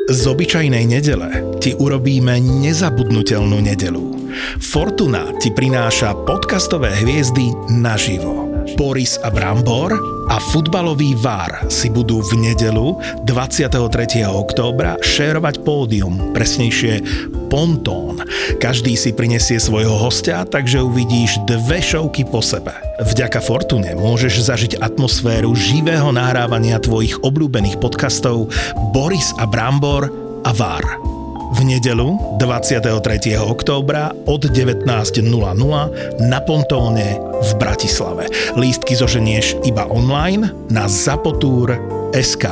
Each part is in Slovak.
Z obyčajnej nedele ti urobíme nezabudnutelnú nedelu. Fortuna ti prináša podcastové hviezdy naživo. Boris a Brambor a futbalový VAR si budú v nedelu 23. októbra šérovať pódium, presnejšie pontón. Každý si prinesie svojho hostia, takže uvidíš dve šovky po sebe. Vďaka Fortune môžeš zažiť atmosféru živého nahrávania tvojich obľúbených podcastov Boris a Brambor a VAR. V nedelu 23. októbra od 19.00 na Pontóne v Bratislave. Lístky zoženieš iba online na zapotur.sk.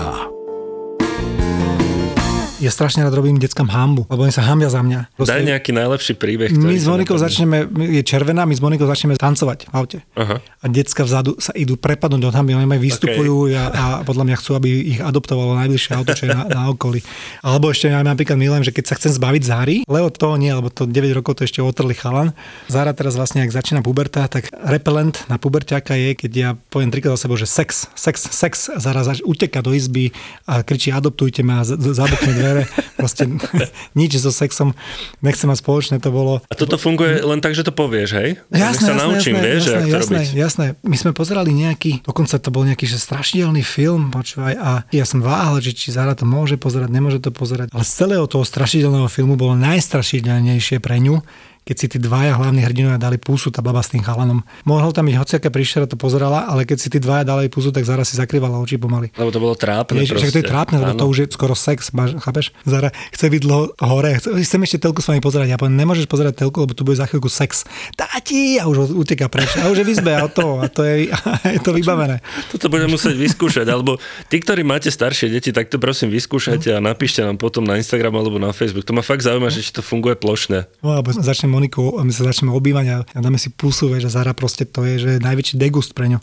Ja strašne rád robím deckám hanbu, lebo oni sa hanbia za mňa. Daj nejaký najlepší príbeh. My s Monikou začneme, je červená, my s Monikou začneme tancovať v aute. Aha. A decka vzadu sa idú prepadnúť do hanby, oni vystupujú a podľa mňa chcú, aby ich adoptovalo najbližšie auto, čo je na okolí. Alebo ešte ja napríklad milujem, že keď sa chcem zbaviť Záry, Leo toho nie, lebo to 9 rokov to ešte otrli chalan. Zára teraz vlastne, ak začína puberta, tak repelent na puberťáka je, keď ja poviem trikrát za sebou, že sex. Zára uteká do izby a kričí adoptujte ma a zabuchne dvere. Proste nič so sexom nechcem mať spoločné, to bolo. A toto funguje len tak, že to povieš, hej? Jasné, Jasné. My sme pozerali nejaký, dokonca to bol nejaký že strašidelný film, počúvaj, a ja som váhal, že či Zára to môže pozerať, nemôže to pozerať. Ale z celého toho strašidelného filmu bolo najstrašidelnejšie pre ňu, keď si tí dvaja hlavní hrdinovia dali pusu, tá baba s tým chalanom. Mohol tam byť hociaká príšera, to pozerala, ale keď si tí dvaja dali pusu, tak Zara si zakrývala oči pomaly. Lebo to bolo trápne. Však to je trápne, lebo to už je skoro sex, chápeš? Zara chce byť dlho hore, chcem ešte telku s vami pozerať. Ja poviem, nemôžeš pozerať telku, lebo tu bude za chvíľku sex. Táti! A už uteká preč. A už je v izbe a to je to vybavené. Toto budem musieť vyskúšať, alebo tí, ktorí máte staršie deti, tak to prosím vyskúšajte a napíšte nám potom na Instagram alebo na Facebook. To ma fakt zaujíma, že či to funguje plošne. No, alebo začne Moniku a my sa začneme obývať a dáme si pusu, vieš, a Zara proste to je, že je najväčší degust pre ňu.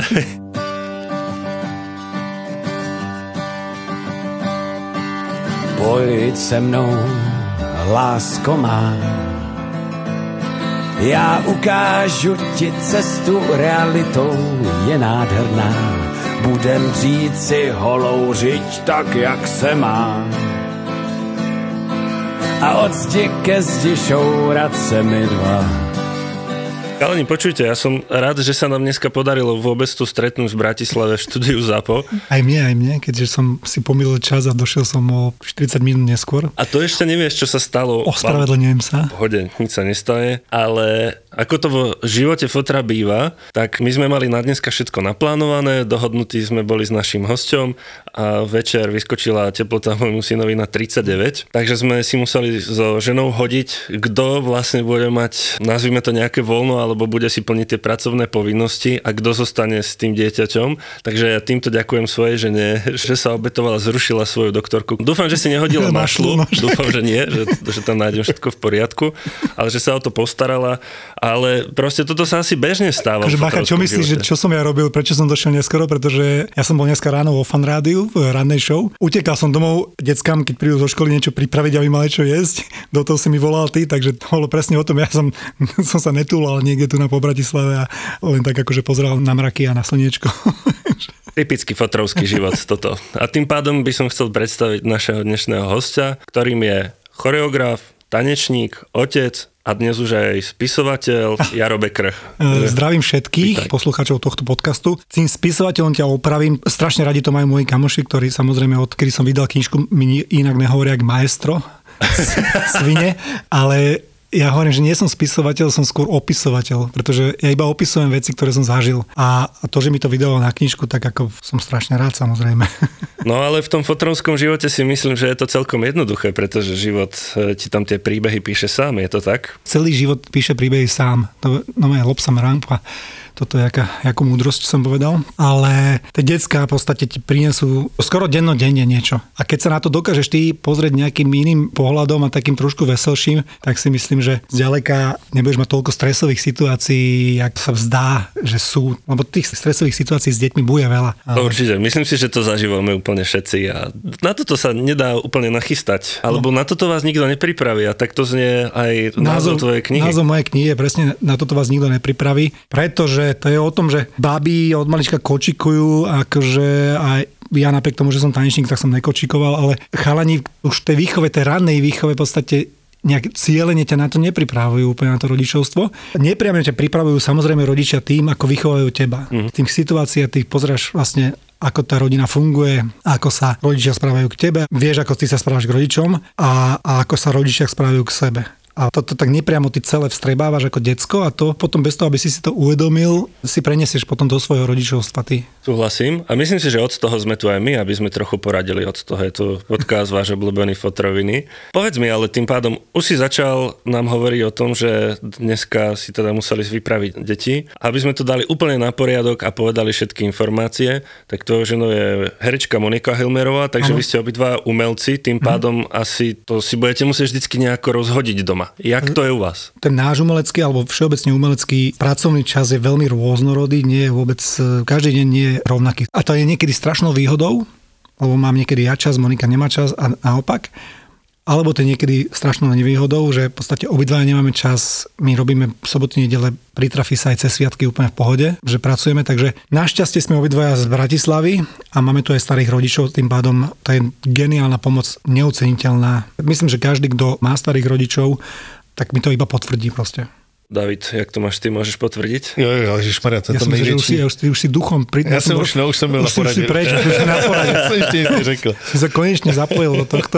Pojď se mnou, lásko má, já ukážu ti cestu, realitou je nádherná. Budem dřít si holou řiď tak, jak se má. A od zdi ke zdi šourat se mi dva. Kalani, počujte, ja som rád, že sa nám dneska podarilo vôbec tu stretnúť v Bratislave v štúdiu ZAPO. Aj mne, keďže som si pomýlil čas a došiel som o 40 minút neskôr. A to ešte nevieš, čo sa stalo. Ospravedlňujem sa. Pohode, nič sa nestane, ale ako to vo živote fotra býva, tak my sme mali na dneska všetko naplánované, dohodnutí sme boli s naším hosťom a večer vyskočila teplota môjmu synovi na 39, takže sme si museli so ženou hodiť, kto vlastne bude mať, nazvime to nejaké voľno, alebo bude si plniť tie pracovné povinnosti a kto zostane s tým dieťaťom. Takže ja týmto ďakujem svojej žene, že sa obetovala, zrušila svoju doktorku. Dúfam, že si nehodila mašlu, dúfam, že nie, že tam nájdem všetko v poriadku, ale že sa o to postarala. Ale proste toto sa asi bežne stáva. Takže Bacha, čo myslíš, že čo som ja robil, prečo som došiel neskoro? Pretože ja som bol dneska ráno vo Fan rádiu, v rannej show. Utekal som domov deckám, keď prídu zo školy niečo pripraviť, aby mali čo jesť. Do toho si mi volal ty, takže to bolo presne o tom. Ja som sa netúlal niekde tu na Bratislave a len tak akože pozeral na mraky a na slniečko. Typický fotrovský život toto. A tým pádom by som chcel predstaviť našeho dnešného hostia, ktorým je choreograf, tanečník, otec a dnes už aj spisovateľ Jaro Bekr. Zdravím všetkých poslucháčov tohto podcastu. Tým spisovateľom ťa opravím. Strašne radi to majú moji kamoši, ktorí samozrejme odkedy som vydal knižku, mi inak nehovoria jak maestro, svine, ale ja hovorím, že nie som spisovateľ, som skôr opisovateľ, pretože ja iba opisujem veci, ktoré som zažil. A to, že mi to vydalo na knižku, tak ako som strašne rád, samozrejme. No ale v tom fotrovskom živote si myslím, že je to celkom jednoduché, pretože život ti tam tie príbehy píše sám, je to tak? Celý život píše príbehy sám. To je Lobsam Rampa. Toto je jakú múdrosť som povedal. Ale tie decká v podstate ti prinesú skoro dennodenne niečo. A keď sa na to dokážeš ty pozrieť nejakým iným pohľadom a takým trošku veselším, tak si myslím, že zďaleka nebudeš mať toľko stresových situácií, jak sa vzdá, že sú. Lebo tých stresových situácií s deťmi bude veľa. Ale... Určite. Myslím si, že to zažívame úplne všetci a na toto sa nedá úplne nachystať. Alebo na toto vás nikto nepripraví a tak to znie aj názov tvojej knihy. Názov mojej knihy je presne na toto vás nikto nepripraví, pretože to je o tom, že baby od malička kočikujú, akože aj ja napriek tomu, že som tanečník, tak som nekočíkoval, ale chalani už v tej výchove, tej rannej výchove v podstate nejak cieľene ťa na to nepripravujú úplne na to rodičovstvo. Nepriame ťa pripravujú samozrejme rodičia tým, ako vychovajú teba. V tých situáciách ty pozráš vlastne, ako tá rodina funguje, ako sa rodičia správajú k tebe, vieš, ako ty sa správaš k rodičom a ako sa rodičia správajú k sebe. A toto tak nepriamo ty celé vstrebávaš ako decko a to potom bez toho, aby si to uvedomil, si prenesieš potom do svojho rodičovstva ty. Súhlasím. A myslím si, že od toho sme tu aj my, aby sme trochu poradili. Od toho je tu podcast váš obľúbený Fotroviny. Povedz mi, ale tým pádom už si začal nám hovoriť o tom, že dneska si teda museli vypraviť deti. Aby sme to dali úplne na poriadok a povedali všetky informácie, tak tvojou ženou je herečka Monika Hilmerová, takže vy ste obidva umelci, tým pádom asi to si budete musieť vždycky nejako rozhodiť doma. Jak to je u vás? Ten náš umelecký alebo všeobecne umelecký pracovný čas je veľmi rôznorodý, nie je vôbec, každý deň nie je rovnaký. A to je niekedy strašnou výhodou, lebo mám niekedy ja čas, Monika nemá čas a naopak. Alebo to je niekedy strašnou nevýhodou, že v podstate obidvaja nemáme čas, my robíme soboty, nedele, pritrafí sa aj cez sviatky úplne v pohode, že pracujeme, takže našťastie sme obidvaja z Bratislavy a máme tu aj starých rodičov, tým pádom to je geniálna pomoc, neoceniteľná. Myslím, že každý, kto má starých rodičov, tak mi to iba potvrdí proste. David, jak to máš ty, môžeš potvrdiť? Jo, ježišmarja, to je to největší. Ja už si duchom... Ja som už byl na poradě. Už si preč, už si na poradě. Ja som ešte nic řekl. Si sa konečne zapojil do tohto.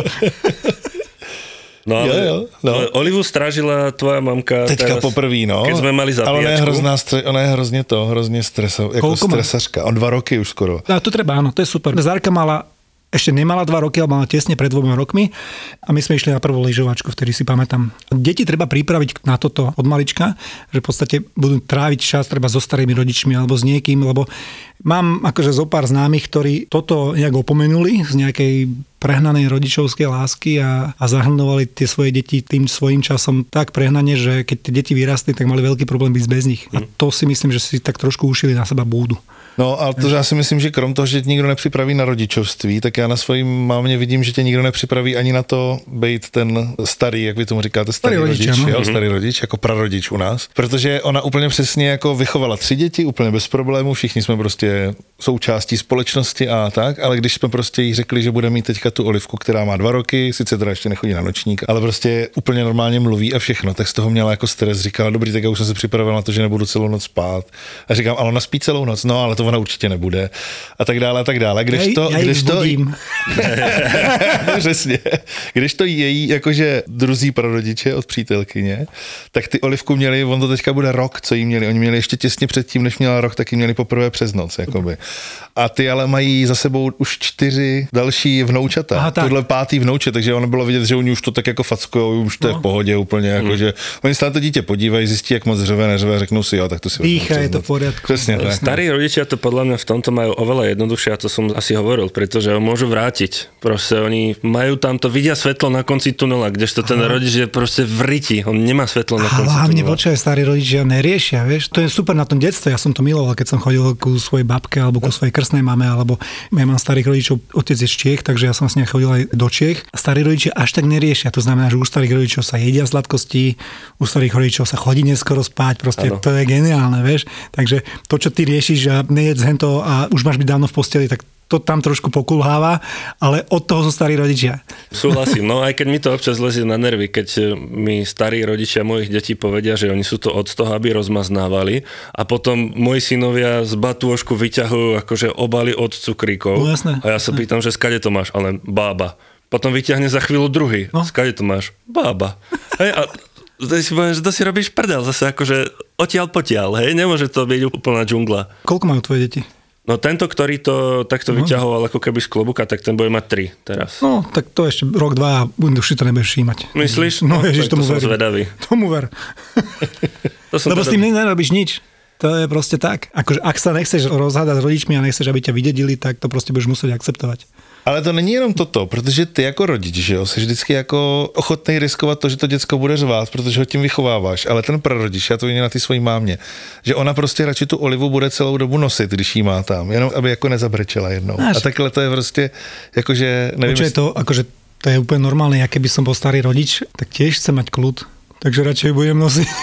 No ale Olivu strážila tvoja mamka teďka teraz, poprvý, no. Keď sme mali zabíjačku. Ale ona je hrozně jako stresařka. On 2 roky už skoro. A to treba, áno, to je super. Zárka ešte nemala 2 roky, ale mala tesne pred 2 rokmi a my sme išli na prvú lyžovačku, vtedy si pamätám. Deti treba pripraviť na toto od malička, že v podstate budú tráviť čas treba so starými rodičmi alebo s niekým, lebo mám akože zo pár známych, ktorí toto nejak opomenuli z nejakej prehnanej rodičovskej lásky a zahrnovali tie svoje deti tým svojím časom tak prehnane, že keď tie deti vyrastli, tak mali veľký problém byť bez nich. A to si myslím, že si tak trošku ušili na seba búdu. No, ale to já si myslím, že krom toho, že tě nikdo nepřipraví na rodičovství, tak já na svojím mámě vidím, že tě nikdo nepřipraví ani na to být ten starý, jak vy tomu říkáte, starý rodič, starý rodič, jako prarodič u nás. Protože ona úplně přesně jako vychovala 3 děti, úplně bez problémů, všichni jsme prostě součástí společnosti a tak, ale když jsme prostě jí řekli, že bude mít teďka tu Olivku, která má 2 roky, sice teda ještě nechodí na nočník, ale prostě úplně normálně mluví a všechno, tak z toho měla jako stres, říkala, dobrý, tak já už jsem se připravil na to, že nebudu celou noc spát. A říkám, ale ona spí celou noc, no, ale to ona určitě nebude. A tak dále, a tak dále. Když to její jakože druzí prarodiče od přítelkyně, tak ty Olivku měli, on to teďka bude rok, co jí měli. Oni měli ještě těsně předtím, než měla rok, tak jí měli poprvé přes noc, jakoby. A ty ale mají za sebou už 4 další vnoučata. Tohle 5. vnouče, takže ono bylo vidět, že oni už to tak jako fackujou, už to je v pohodě úplně, jakože oni se na to dítě podívají, zjistí, jak moc řve, neřve, řeknou si, jo, tak to si dýcha, je to v poriadku. Presne tak. Starí rodičia to podľa mňa v tomto majú oveľa jednoduchšie, a to som asi hovoril, pretože ho môžu vrátiť. Proste oni majú tam to, vidia svetlo na konci tunela, kdežto ten rodič je proste v riti, on nemá svetlo na konci tunela. Hlavne počkaj, starí rodičia neriešia, vieš, to je super na tom detstve, ja som to miloval, keď som chodil ku svojej babke alebo ku svojej krstnej mame, alebo ja mám starých rodičov, otec je z Čiech, takže ja som s ním chodil aj do Čiech. Starí rodičia až tak neriešia, to znamená, že u starých rodičov sa jedia sladkosti, u starých rodičov sa chodí neskoro spať, proste to je geniálne, vieš. Takže to, čo ty riešiš a nejedz hento a už máš byť dávno v posteli, tak to tam trošku pokulháva, ale od toho sú starí rodičia. Súhlasím, no aj keď mi to občas lezie na nervy, keď mi starí rodičia mojich detí povedia, že oni sú to od toho, aby rozmaznávali a potom moji synovia z batôžku vyťahujú akože obaly od cukríkov. No, jasné. A ja sa pýtam, že skade to máš, ale bába. Potom vyťahne za chvíľu druhý. No. Skade to máš? Bába. Hej, a si poviem, že to si robíš prdel, zase akože odtiaľ potiaľ, hej, nemôže to byť úplná džungla. Koľko majú tvoje deti? No tento, ktorý to takto vyťahoval ako keby z klobuka, tak ten bude mať 3 teraz. No, tak to ešte rok, 2 a už si to nebudeš všímať. Myslíš? No, ježiš, tomu som zvedavý. Tomu ver. Lebo s tým nerobíš nič. To je proste tak. Akože, ak sa nechceš rozhádať s rodičmi a nechceš, aby ťa vydedili, tak to proste budeš musieť akceptovať. Ale to není jenom toto, protože ty jako rodič, že jo, jsi vždycky jako ochotný riskovat to, že to děcko bude řvát, protože ho tím vychováváš, ale ten prarodič, já to vidím na ty svojí mámě, že ona prostě radši tu Olivu bude celou dobu nosit, když jí má tam, jenom aby jako nezabrečela jednou. A takhle to je prostě, jakože, nevím. Počuaj, to, akože, to je úplne normálne, ja keby som bol starý rodič, tak tiež chcem mať kľud. Takže radšej budem nosiť.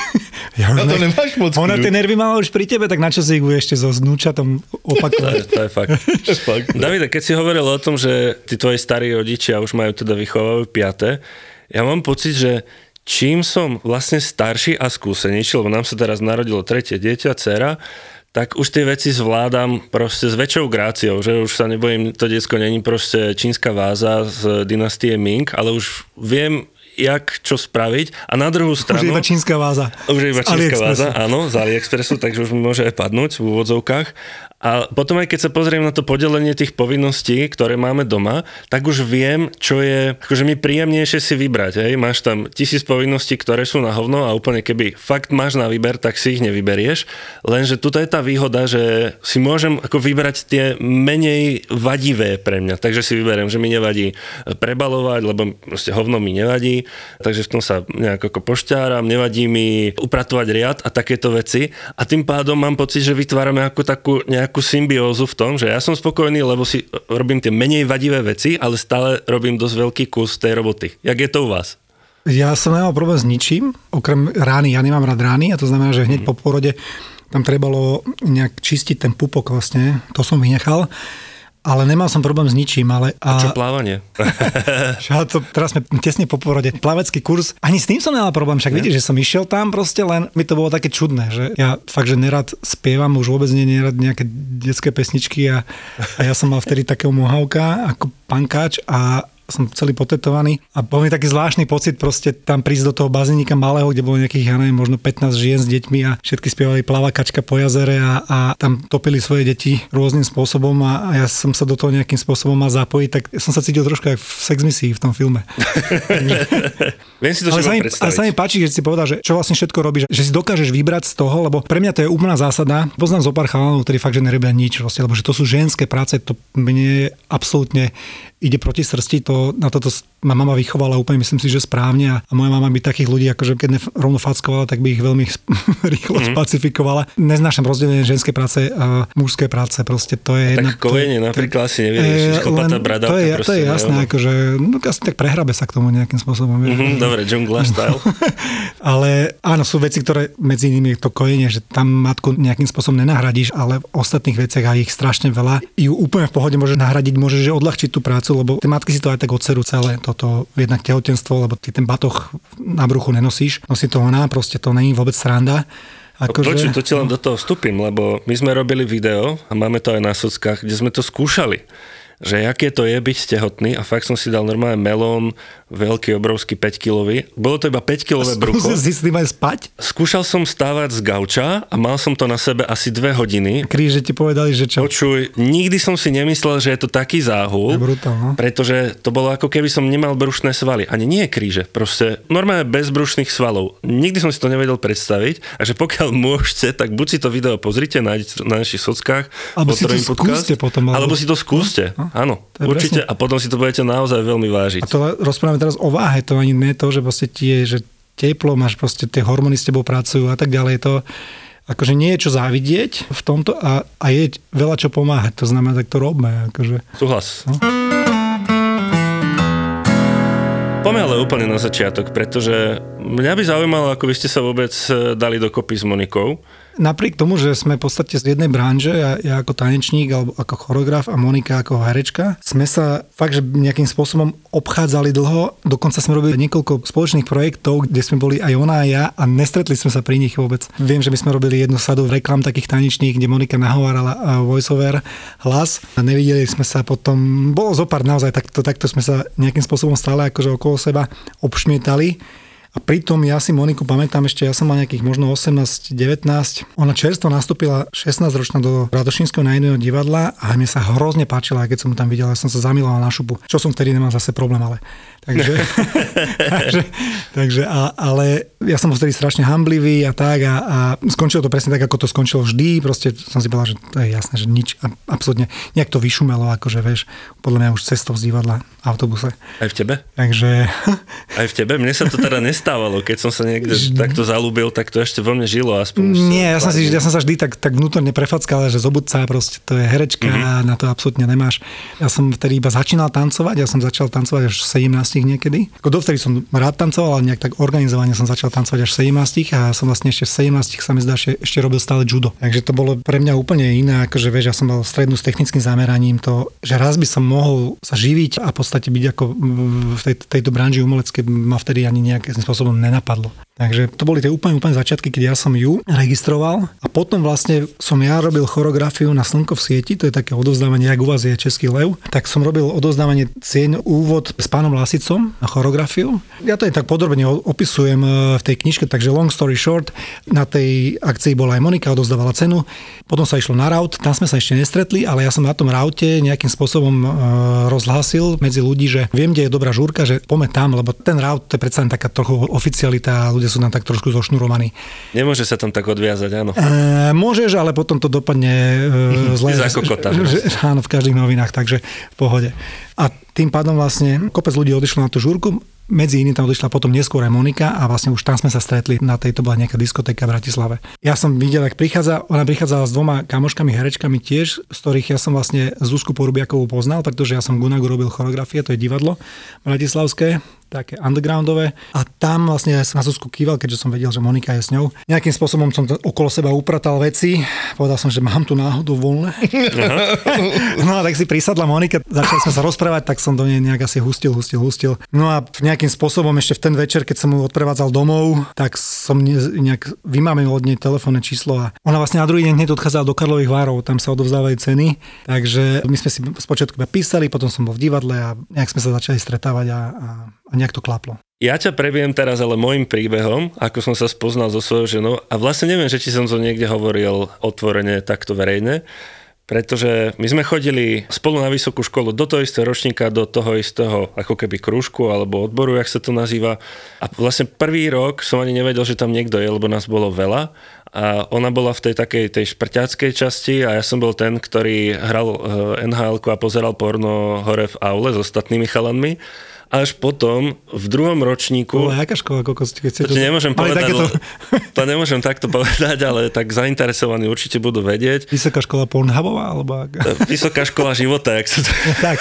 to nemáš moc. Ona tie nervy mala už pri tebe, tak na čo si ich bude ešte so vnúčatom opakovať? To je fakt. Davide, keď si hovoril o tom, že tí tvoji starí rodičia už majú teda vychovávajú 5. Ja mám pocit, že čím som vlastne starší a skúsenejší, lebo nám sa teraz narodilo 3. dieťa, dcera, tak už tie veci zvládam proste s väčšou gráciou, že už sa nebojím, to decko není proste čínska váza z dynastie Ming, ale už viem, čo spraviť. A na druhú stranu... Už je iba čínska váza. Už je iba čínska váza, áno, z AliExpressu, takže už mi môže aj padnúť v úvodzovkách. A potom aj keď sa pozriem na to podelenie tých povinností, ktoré máme doma, tak už viem, čo je akože mi príjemnejšie si vybrať. Hej? Máš tam 1000 povinností, ktoré sú na hovno a úplne keby fakt máš na výber, tak si ich nevyberieš. Lenže tuto je tá výhoda, že si môžem ako vybrať tie menej vadivé pre mňa. Takže si vyberiem, že mi nevadí prebalovať, lebo proste hovno mi nevadí. Takže v tom sa nejak ako pošťáram, nevadí mi upratovať riad a takéto veci. A tým pádom mám pocit, že vytvárame ako takú nejakú symbiózu v tom, že ja som spokojný, lebo si robím tie menej vadivé veci, ale stále robím dosť veľký kus tej roboty. Jak je to u vás? Ja som nemal problém s ničím, okrem rány. Ja nemám rád rány a to znamená, že hneď po porode tam trebalo nejak čistiť ten pupok vlastne. To som vynechal. Ale nemal som problém s ničím, ale... A čo plávanie? Teraz sme tesne po porode. Plavecký kurz, ani s tým som nemal problém, však vidíš, že som išiel tam proste, len mi to bolo také čudné, že ja fakt, že nerad spievam, už vôbec nerad nejaké detské pesničky a ja som mal vtedy takého mohawka ako pankáč a som celý potetovaný a bol mi taký zvláštny pocit proste tam prísť do toho bazénika malého, kde bolo nejakých, ja neviem, možno 15 žien s deťmi a všetky spievali Plavakačka po jazere a tam topili svoje deti rôznym spôsobom a ja som sa do toho nejakým spôsobom mal zapojiť, tak som sa cítil trošku ako v Sex misii v tom filme. Viem si to predstaviť. Ale sa mi páči, že si povedal, že čo vlastne všetko robíš, že si dokážeš vybrať z toho, lebo pre mňa to je úplná zásada. Poznám zo pár chalanov, ktorí fakt, že nerobia nič, proste, lebo že to sú ženské práce, to mne absolútne ide proti srsti, na toto ma mama vychovala úplne, myslím si, že správne a moja mama by takých ľudí, akože keď rovno fackovala, tak by ich veľmi rýchlo spacifikovala. Neznášam rozdelenie ženské práce a mužské práce, proste to je jedna... Tak kojenie napríklad asi nevyriešiš, chlpatá bradavka. To je jasné, akože asi tak prehrabe sa k tomu nejakým spôsobom. Dobre, džungla style. Ale áno, sú veci, ktoré medzi nimi je to kojenie, že tam matku nejakým spôsobom nenahradíš, ale v ostatných veciach aj ich strašne veľa. Ju úplne v pohode môže nahradiť, môže odľahčiť tú prácu, lebo tie matky si to aj tak odserú celé, toto jednak tehotenstvo, lebo ty ten batoh na bruchu nenosíš, nosí to ona, proste to není vôbec sranda. Počuť, to ti len do toho vstúpim, lebo my sme robili video a máme to aj na sockách, kde sme to skúšali, že aké to je byť tehotný a fakt som si dal normálne melón, veľký, obrovský 5-kilový. Bolo to iba 5-kilové brucho. Skúsil si s tým aj spať? Skúšal som stávať z gauča a mal som to na sebe asi 2 hodiny. Kríže ti povedali, že čo? Počuj, nikdy som si nemyslel, že je to taký záhul, pretože to bolo ako keby som nemal brušné svaly. Ani nie kríže, proste normálne bez brušných svalov. Nikdy som si to nevedel predstaviť a že pokiaľ môžete, tak buď si to video pozrite na našich sockách, alebo si to skúste potom. Alebo si to skúste, áno, určite presne. A potom si to budete naozaj veľmi vážiť. A to rozprávame teraz o váhe, to ani nie to, že proste ti je, že teplo, máš proste tie hormóny s tebou pracujú a tak ďalej. To akože nie je čo závidieť v tomto a je veľa čo pomáhať. To znamená, tak to robme. Akože. Súhlas. No. Poďme ale úplne na začiatok, pretože mňa by zaujímalo, ako vy ste sa vôbec dali dokopy s Monikou. Napriek tomu, že sme v podstate z jednej branže, ja ako tanečník alebo ako choreograf a Monika ako herečka, sme sa fakt, že nejakým spôsobom obchádzali dlho, dokonca sme robili niekoľko spoločných projektov, kde sme boli aj ona a ja a nestretli sme sa pri nich vôbec. Viem, že my sme robili jednu sadu reklam takých tanečných, kde Monika nahovárala voiceover hlas a nevideli sme sa potom, bolo zopár naozaj, takto sme sa nejakým spôsobom stále akože okolo seba obšmietali. A pritom ja si Moniku pamätám ešte, ja som mal nejakých možno 18-19. Ona čerstvo nastúpila 16-ročná do Radošínskeho národného divadla a mne sa hrozne páčila, keď som mu tam videl, ja som sa zamiloval na šupu. Čo som vtedy nemal zase problém, ale... Takže ale ja som bol vtedy strašne hamblivý a tak a skončilo to presne tak, ako to skončilo vždy. Proste som si povedal, že to je jasné, že nič, absolútne nejak to vyšumelo, akože vieš, podľa mňa už cestou z divadla v autobuse. Aj v tebe? Takže... Aj v tebe? Mne sa to teda nestalo. nestávalo, keď som sa niekde takto zalúbil, tak to ešte vo mne žilo aspoň. Nie, ja som sa vždy tak vnútorne prefackal, že zobudca proste to je herečka a na to absolútne nemáš. Ja som vtedy iba začínal tancovať, ja som začal tancovať až v 17 niekedy. Dovtedy som rád tancoval, ale nejak tak organizovane som začal tancovať až v 17 a som vlastne ešte v 17 sa mi zdá, že ešte robil stále judo. Takže to bolo pre mňa úplne iné, akože vieš, ja som mal strednú s technickým zameraním, to, že raz by som mohol sa živiť a v podstate byť ako v tejto branži umelecké ma vtedy ani nejakým spôsobom nenapadlo. Takže to boli tie úplne začiatky, keď ja som ju registroval a potom vlastne som ja robil choreografiu na Slnko v sieti, to je také odovzdávanie, jak u vás je Český lev, tak som robil odovzdávanie cieň úvod s pánom Lasicom na choreografiu. Ja to aj tak podrobne opisujem v tej knižke, takže long story short, na tej akcii bola aj Monika, odovzdávala cenu, potom sa išlo na raut, tam sme sa ešte nestretli, ale ja som na tom raute nejakým spôsobom rozhlásil medzi ľudí, že viem, kde je dobrá žúrka, že poďme tam, lebo ten raut to je predsa len taká trochu oficialita, ľudia sú tam tak trošku zošnurovaní. Nemôže sa tam tak odviazať, áno. Môžeš, ale potom to dopadne zle. Za kokota. Áno, v každých novinách, takže v pohode. A tým pádom vlastne kopec ľudí odišlo na tú žúrku, medzi iným tam odišla potom neskôr aj Monika a vlastne už tam sme sa stretli, na tejto bola nejaká diskotéka v Bratislave. Ja som videl, ak ona prichádzala s 2 kamoškami, herečkami tiež, z ktorých ja som vlastne Zuzku Porubiakovú poznal, pretože ja som v Gunagu robil choreografie, to je divadlo bratislavské, také undergroundové. A tam vlastne ja som na Zuzku kýval, keďže som vedel, že Monika je s ňou. Nejakým spôsobom som okolo seba upratal veci. Povedal som, že mám tu náhodou voľné. No a tak si prisadla Monika, začali sme sa rozprávať, tak som do nej nejak asi hustil. No a nejakým spôsobom ešte v ten večer, keď som ju odprevádzal domov, tak som nejak vymámil od nej telefónne číslo a ona vlastne na druhý deň hneď odchádzala do Karlových Varov, tam sa odovzdávajú ceny. Takže my sme si spočiatku písali, potom som bol v divadle a nejak sme sa začali stretávať a nejak to klaplo. Ja ťa prebiem teraz ale môjim príbehom, ako som sa spoznal so svojou ženou a vlastne neviem, že či som to niekde hovoril otvorene takto verejne, pretože my sme chodili spolu na vysokú školu do toho istého ročníka, do toho istého ako keby krúžku alebo odboru, jak sa to nazýva. A vlastne prvý rok som ani nevedel, že tam niekto je, lebo nás bolo veľa. A ona bola v tej takej tej šprťáckej časti a ja som bol ten, ktorý hral NHL-ku a pozeral porno hore v aule s ostatnými chalanmi. Až potom, v druhom ročníku... Jaká škola, koľko ste to nemôžem povedať, to nemôžem takto povedať, ale tak zainteresovaní určite budú vedieť. Vysoká škola Pornhubová, alebo... Vysoká škola života, jak sa to... Tak.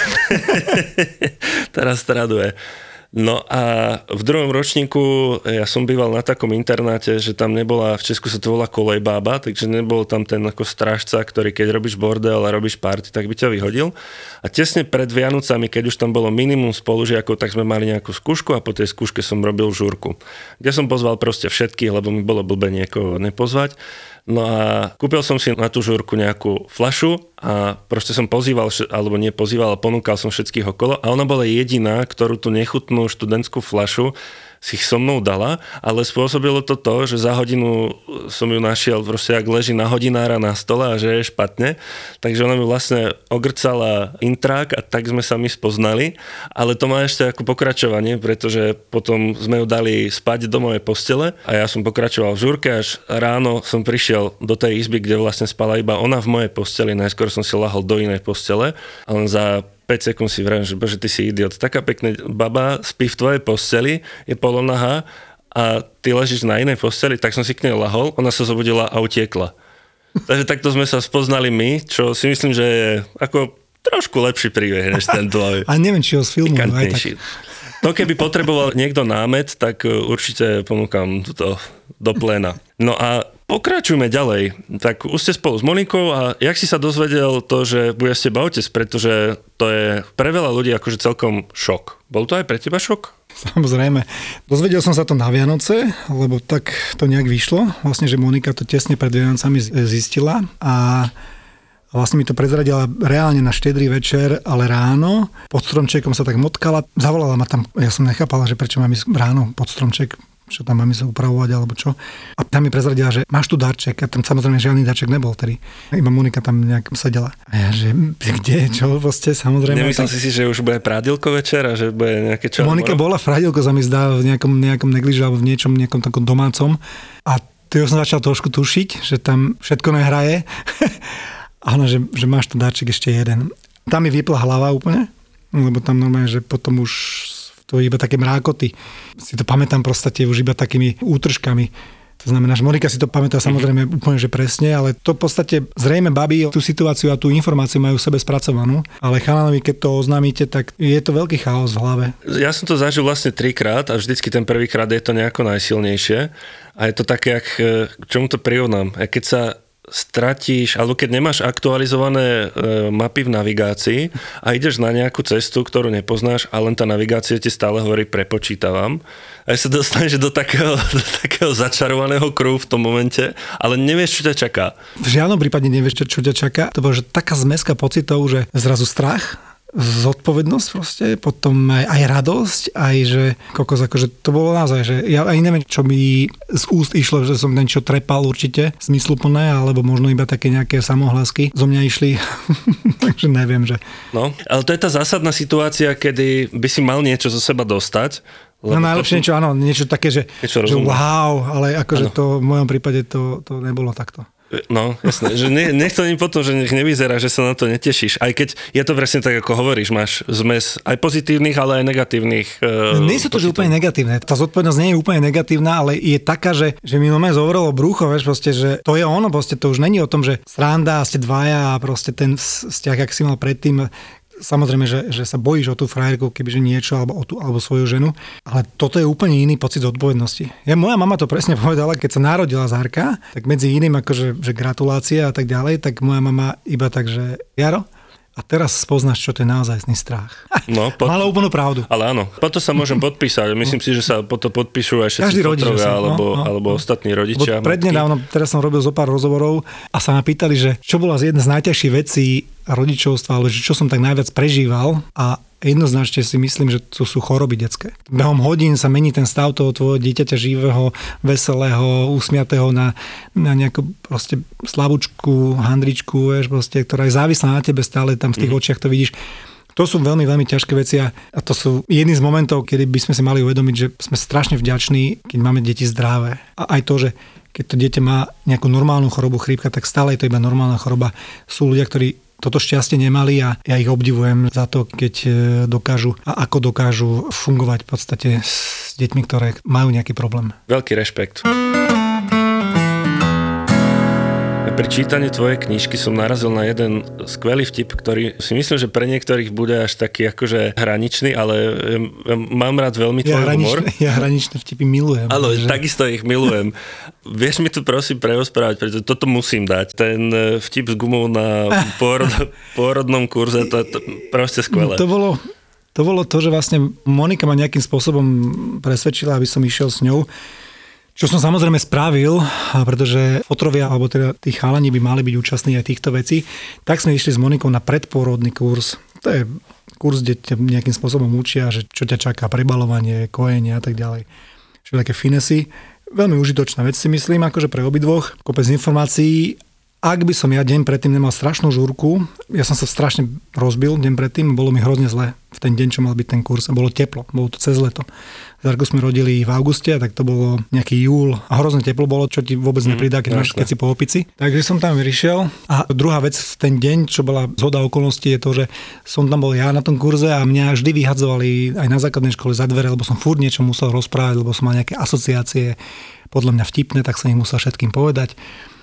Teraz traduje. No a v druhom ročníku ja som býval na takom internáte, že tam nebola, v Česku sa to volá kolejbába, takže nebol tam ten ako strážca, ktorý keď robíš bordel a robíš party, tak by ťa vyhodil. A tesne pred Vianocami, keď už tam bolo minimum spolužiakov, tak sme mali nejakú skúšku a po tej skúške som robil žúrku, kde som pozval proste všetkých, lebo mi bolo blbé niekoho nepozvať. No a kúpil som si na tú žúrku nejakú fľašu a proste som pozýval, alebo nepozýval, ale ponúkal som všetkých okolo a ona bola jediná, ktorú tú nechutnú študentskú fľašu si so mnou dala, ale spôsobilo to, že za hodinu som ju našiel, proste ak leží na hodinára na stole a že je špatne, takže ona mi vlastne ogrcala intrák a tak sme sa my spoznali, ale to má ešte ako pokračovanie, pretože potom sme ju dali spať do mojej postele a ja som pokračoval v žúrke, až ráno som prišiel do tej izby, kde vlastne spala iba ona v mojej posteli, najskôr som si lahol do inej postele, ale za 5 sekúnd si vrajím, že bože, ty si idiot. Taká pekná baba spí v tvojej posteli, je polonahá a ty ležíš na inej posteli, tak som si k nej lahol, ona sa zobudila a utiekla. Takže takto sme sa spoznali my, čo si myslím, že je ako trošku lepší príbeh, než ten tvoj. A neviem, či ho z filmu. To keby potreboval niekto námet, tak určite ponúkam toto do pléna. No a pokračujme ďalej. Tak už ste spolu s Monikou a jak si sa dozvedel to, že bude s teba otec, pretože to je pre veľa ľudí akože celkom šok. Bol to aj pre teba šok? Samozrejme. Dozvedel som sa to na Vianoce, lebo tak to nejak vyšlo. Vlastne, že Monika to tesne pred Vianocami zistila a vlastne mi to prezradila reálne na štedrý večer, ale ráno. Pod stromčekom sa tak motkala. Zavolala ma tam, ja som nechápala, že prečo mám ísť ráno pod stromček, čo tam mám ísť upravovať alebo čo. A tam mi prezradila, že máš tu darček. A tam samozrejme žiadny darček nebol tedy. Iba Monika tam nejak sedela. A ja, že kde, čo vlastne, samozrejme. Nemyslel si, že už bude prádilko večer a že bude nejaké čo? Monika bola v prádilko, sa mi zdá, v nejakom negliži alebo v nejakom takom domácom. A to som začal trošku tušiť, že tam všetko nehraje. Áno, že máš tu dáček ešte jeden. Tam mi vypla hlava úplne, lebo tam normálne, že potom už v to iba také mrákoty. Si to pamätám proste už iba takými útržkami. To znamená, že Monika si to pamätá samozrejme úplne, že presne, ale to v podstate zrejme babi tú situáciu a tú informáciu majú v sebe spracovanú, ale chalanovi, keď to oznámite, tak je to veľký chaos v hlave. Ja som to zažil vlastne 3-krát a vždycky ten prvýkrát je to nejako najsilnejšie a je to také, k čomu to prirovnám. A keď sa stratíš, alebo keď nemáš aktualizované mapy v navigácii a ideš na nejakú cestu, ktorú nepoznáš a len tá navigácia ti stále hovorí prepočítavam. A sa dostaneš do takého začarovaného kruhu v tom momente, ale nevieš, čo ťa čaká. V žiadnom prípade nevieš, čo ťa čaká. To bolo, že taká zmeska pocitov, že zrazu strach, zodpovednosť proste, potom aj radosť, aj že kokos, akože to bolo naozaj, že ja aj neviem, čo mi z úst išlo, že som niečo trepal určite, zmysluplné, alebo možno iba také nejaké samohlasky zo mňa išli, takže neviem, že... No, ale to je tá zásadná situácia, kedy by si mal niečo zo seba dostať. No najlepšie niečo, áno, niečo také, že wow, ale akože to v mojom prípade to nebolo takto. No, jasné, že nech to potom, že nech nevyzerá, že sa na to netešíš. Aj keď je to presne tak, ako hovoríš, máš zmes aj pozitívnych, ale aj negatívnych. Nie sú to že úplne negatívne. Tá zodpovednosť nie je úplne negatívna, ale je taká, že mi normálne zovrelo brucho, vieš, proste, že to je ono, proste to už není o tom, že sranda a ste dvaja a proste ten vzťah, ak si mal predtým. Samozrejme, že sa bojíš o tú frajerku, kebyže niečo, alebo svoju ženu, ale toto je úplne iný pocit zodpovednosti. Moja mama to presne povedala, keď sa narodila Zárka, tak medzi iným akože že gratulácie a tak ďalej, tak moja mama iba tak, že Jaro, a teraz spoznáš, čo to je naozajstný strach. No, mala úplnú pravdu. Ale áno, potom sa môžem podpísať. Myslím si, že sa potom podpíšu aj všetci fotrovia alebo ostatní rodičia. Prednedávno, teraz som robil zo pár rozhovorov a sa ma pýtali, že čo bola jedna z najťažších vecí rodičovstva, alebo čo som tak najviac prežíval a jednoznačne si myslím, že to sú choroby detské. Behom hodín sa mení ten stav toho tvojho dieťaťa živého, veselého, usmiatého na nejakú proste slabúčku, handričku, vieš, proste, ktorá je závislá na tebe stále, tam v tých očiach to vidíš. To sú veľmi, veľmi ťažké veci a to sú jedný z momentov, kedy by sme si mali uvedomiť, že sme strašne vďační, keď máme deti zdravé. A aj to, že keď to dieťa má nejakú normálnu chorobu chrípka, tak stále je to iba normálna choroba. Sú ľudia, ktorí toto šťastie nemali a ja ich obdivujem za to, keď dokážu a ako dokážu fungovať v podstate s deťmi, ktoré majú nejaký problém. Veľký rešpekt. Pri čítaní tvojej knižky som narazil na jeden skvelý vtip, ktorý si myslím, že pre niektorých bude až taký akože hraničný, ale mám rád veľmi tvoj humor. Ja hraničné vtipy milujem. Áno, takisto ich milujem. Vieš mi to prosím preosprávať, pretože toto musím dať. Ten vtip s gumou na pôrodnom kurze, to proste skvelé. To bolo to, že vlastne Monika ma nejakým spôsobom presvedčila, aby som išiel s ňou. Čo som samozrejme spravil, pretože fotrovia, alebo teda tí chalani by mali byť účastní aj týchto vecí, tak sme išli s Monikou na predpôrodný kurz. To je kurz, kde ťa nejakým spôsobom učia, že čo ťa čaká, prebalovanie, kojenie a tak ďalej. Čiže také finesy. Veľmi užitočná vec si myslím, akože pre obidvoch. Kopec informácií. Ak by som ja deň predtým nemal strašnú žúrku, ja som sa strašne rozbil deň predtým, bolo mi hrozne zle v ten deň, čo mal byť ten kurz. Bolo teplo, bolo to cez leto. Zárku sme rodili v auguste, tak to bolo nejaký júl a hrozne teplo bolo, čo ti vôbec nepridá, keď si po opici. Takže som tam vyrišiel a druhá vec v ten deň, čo bola zhoda okolností, je to, že som tam bol ja na tom kurze a mňa vždy vyhadzovali aj na základnej škole za dvere, lebo som furt niečo musel rozprávať, lebo som mal nejaké asociácie podľa mňa vtipné, tak som ich musel všetkým povedať.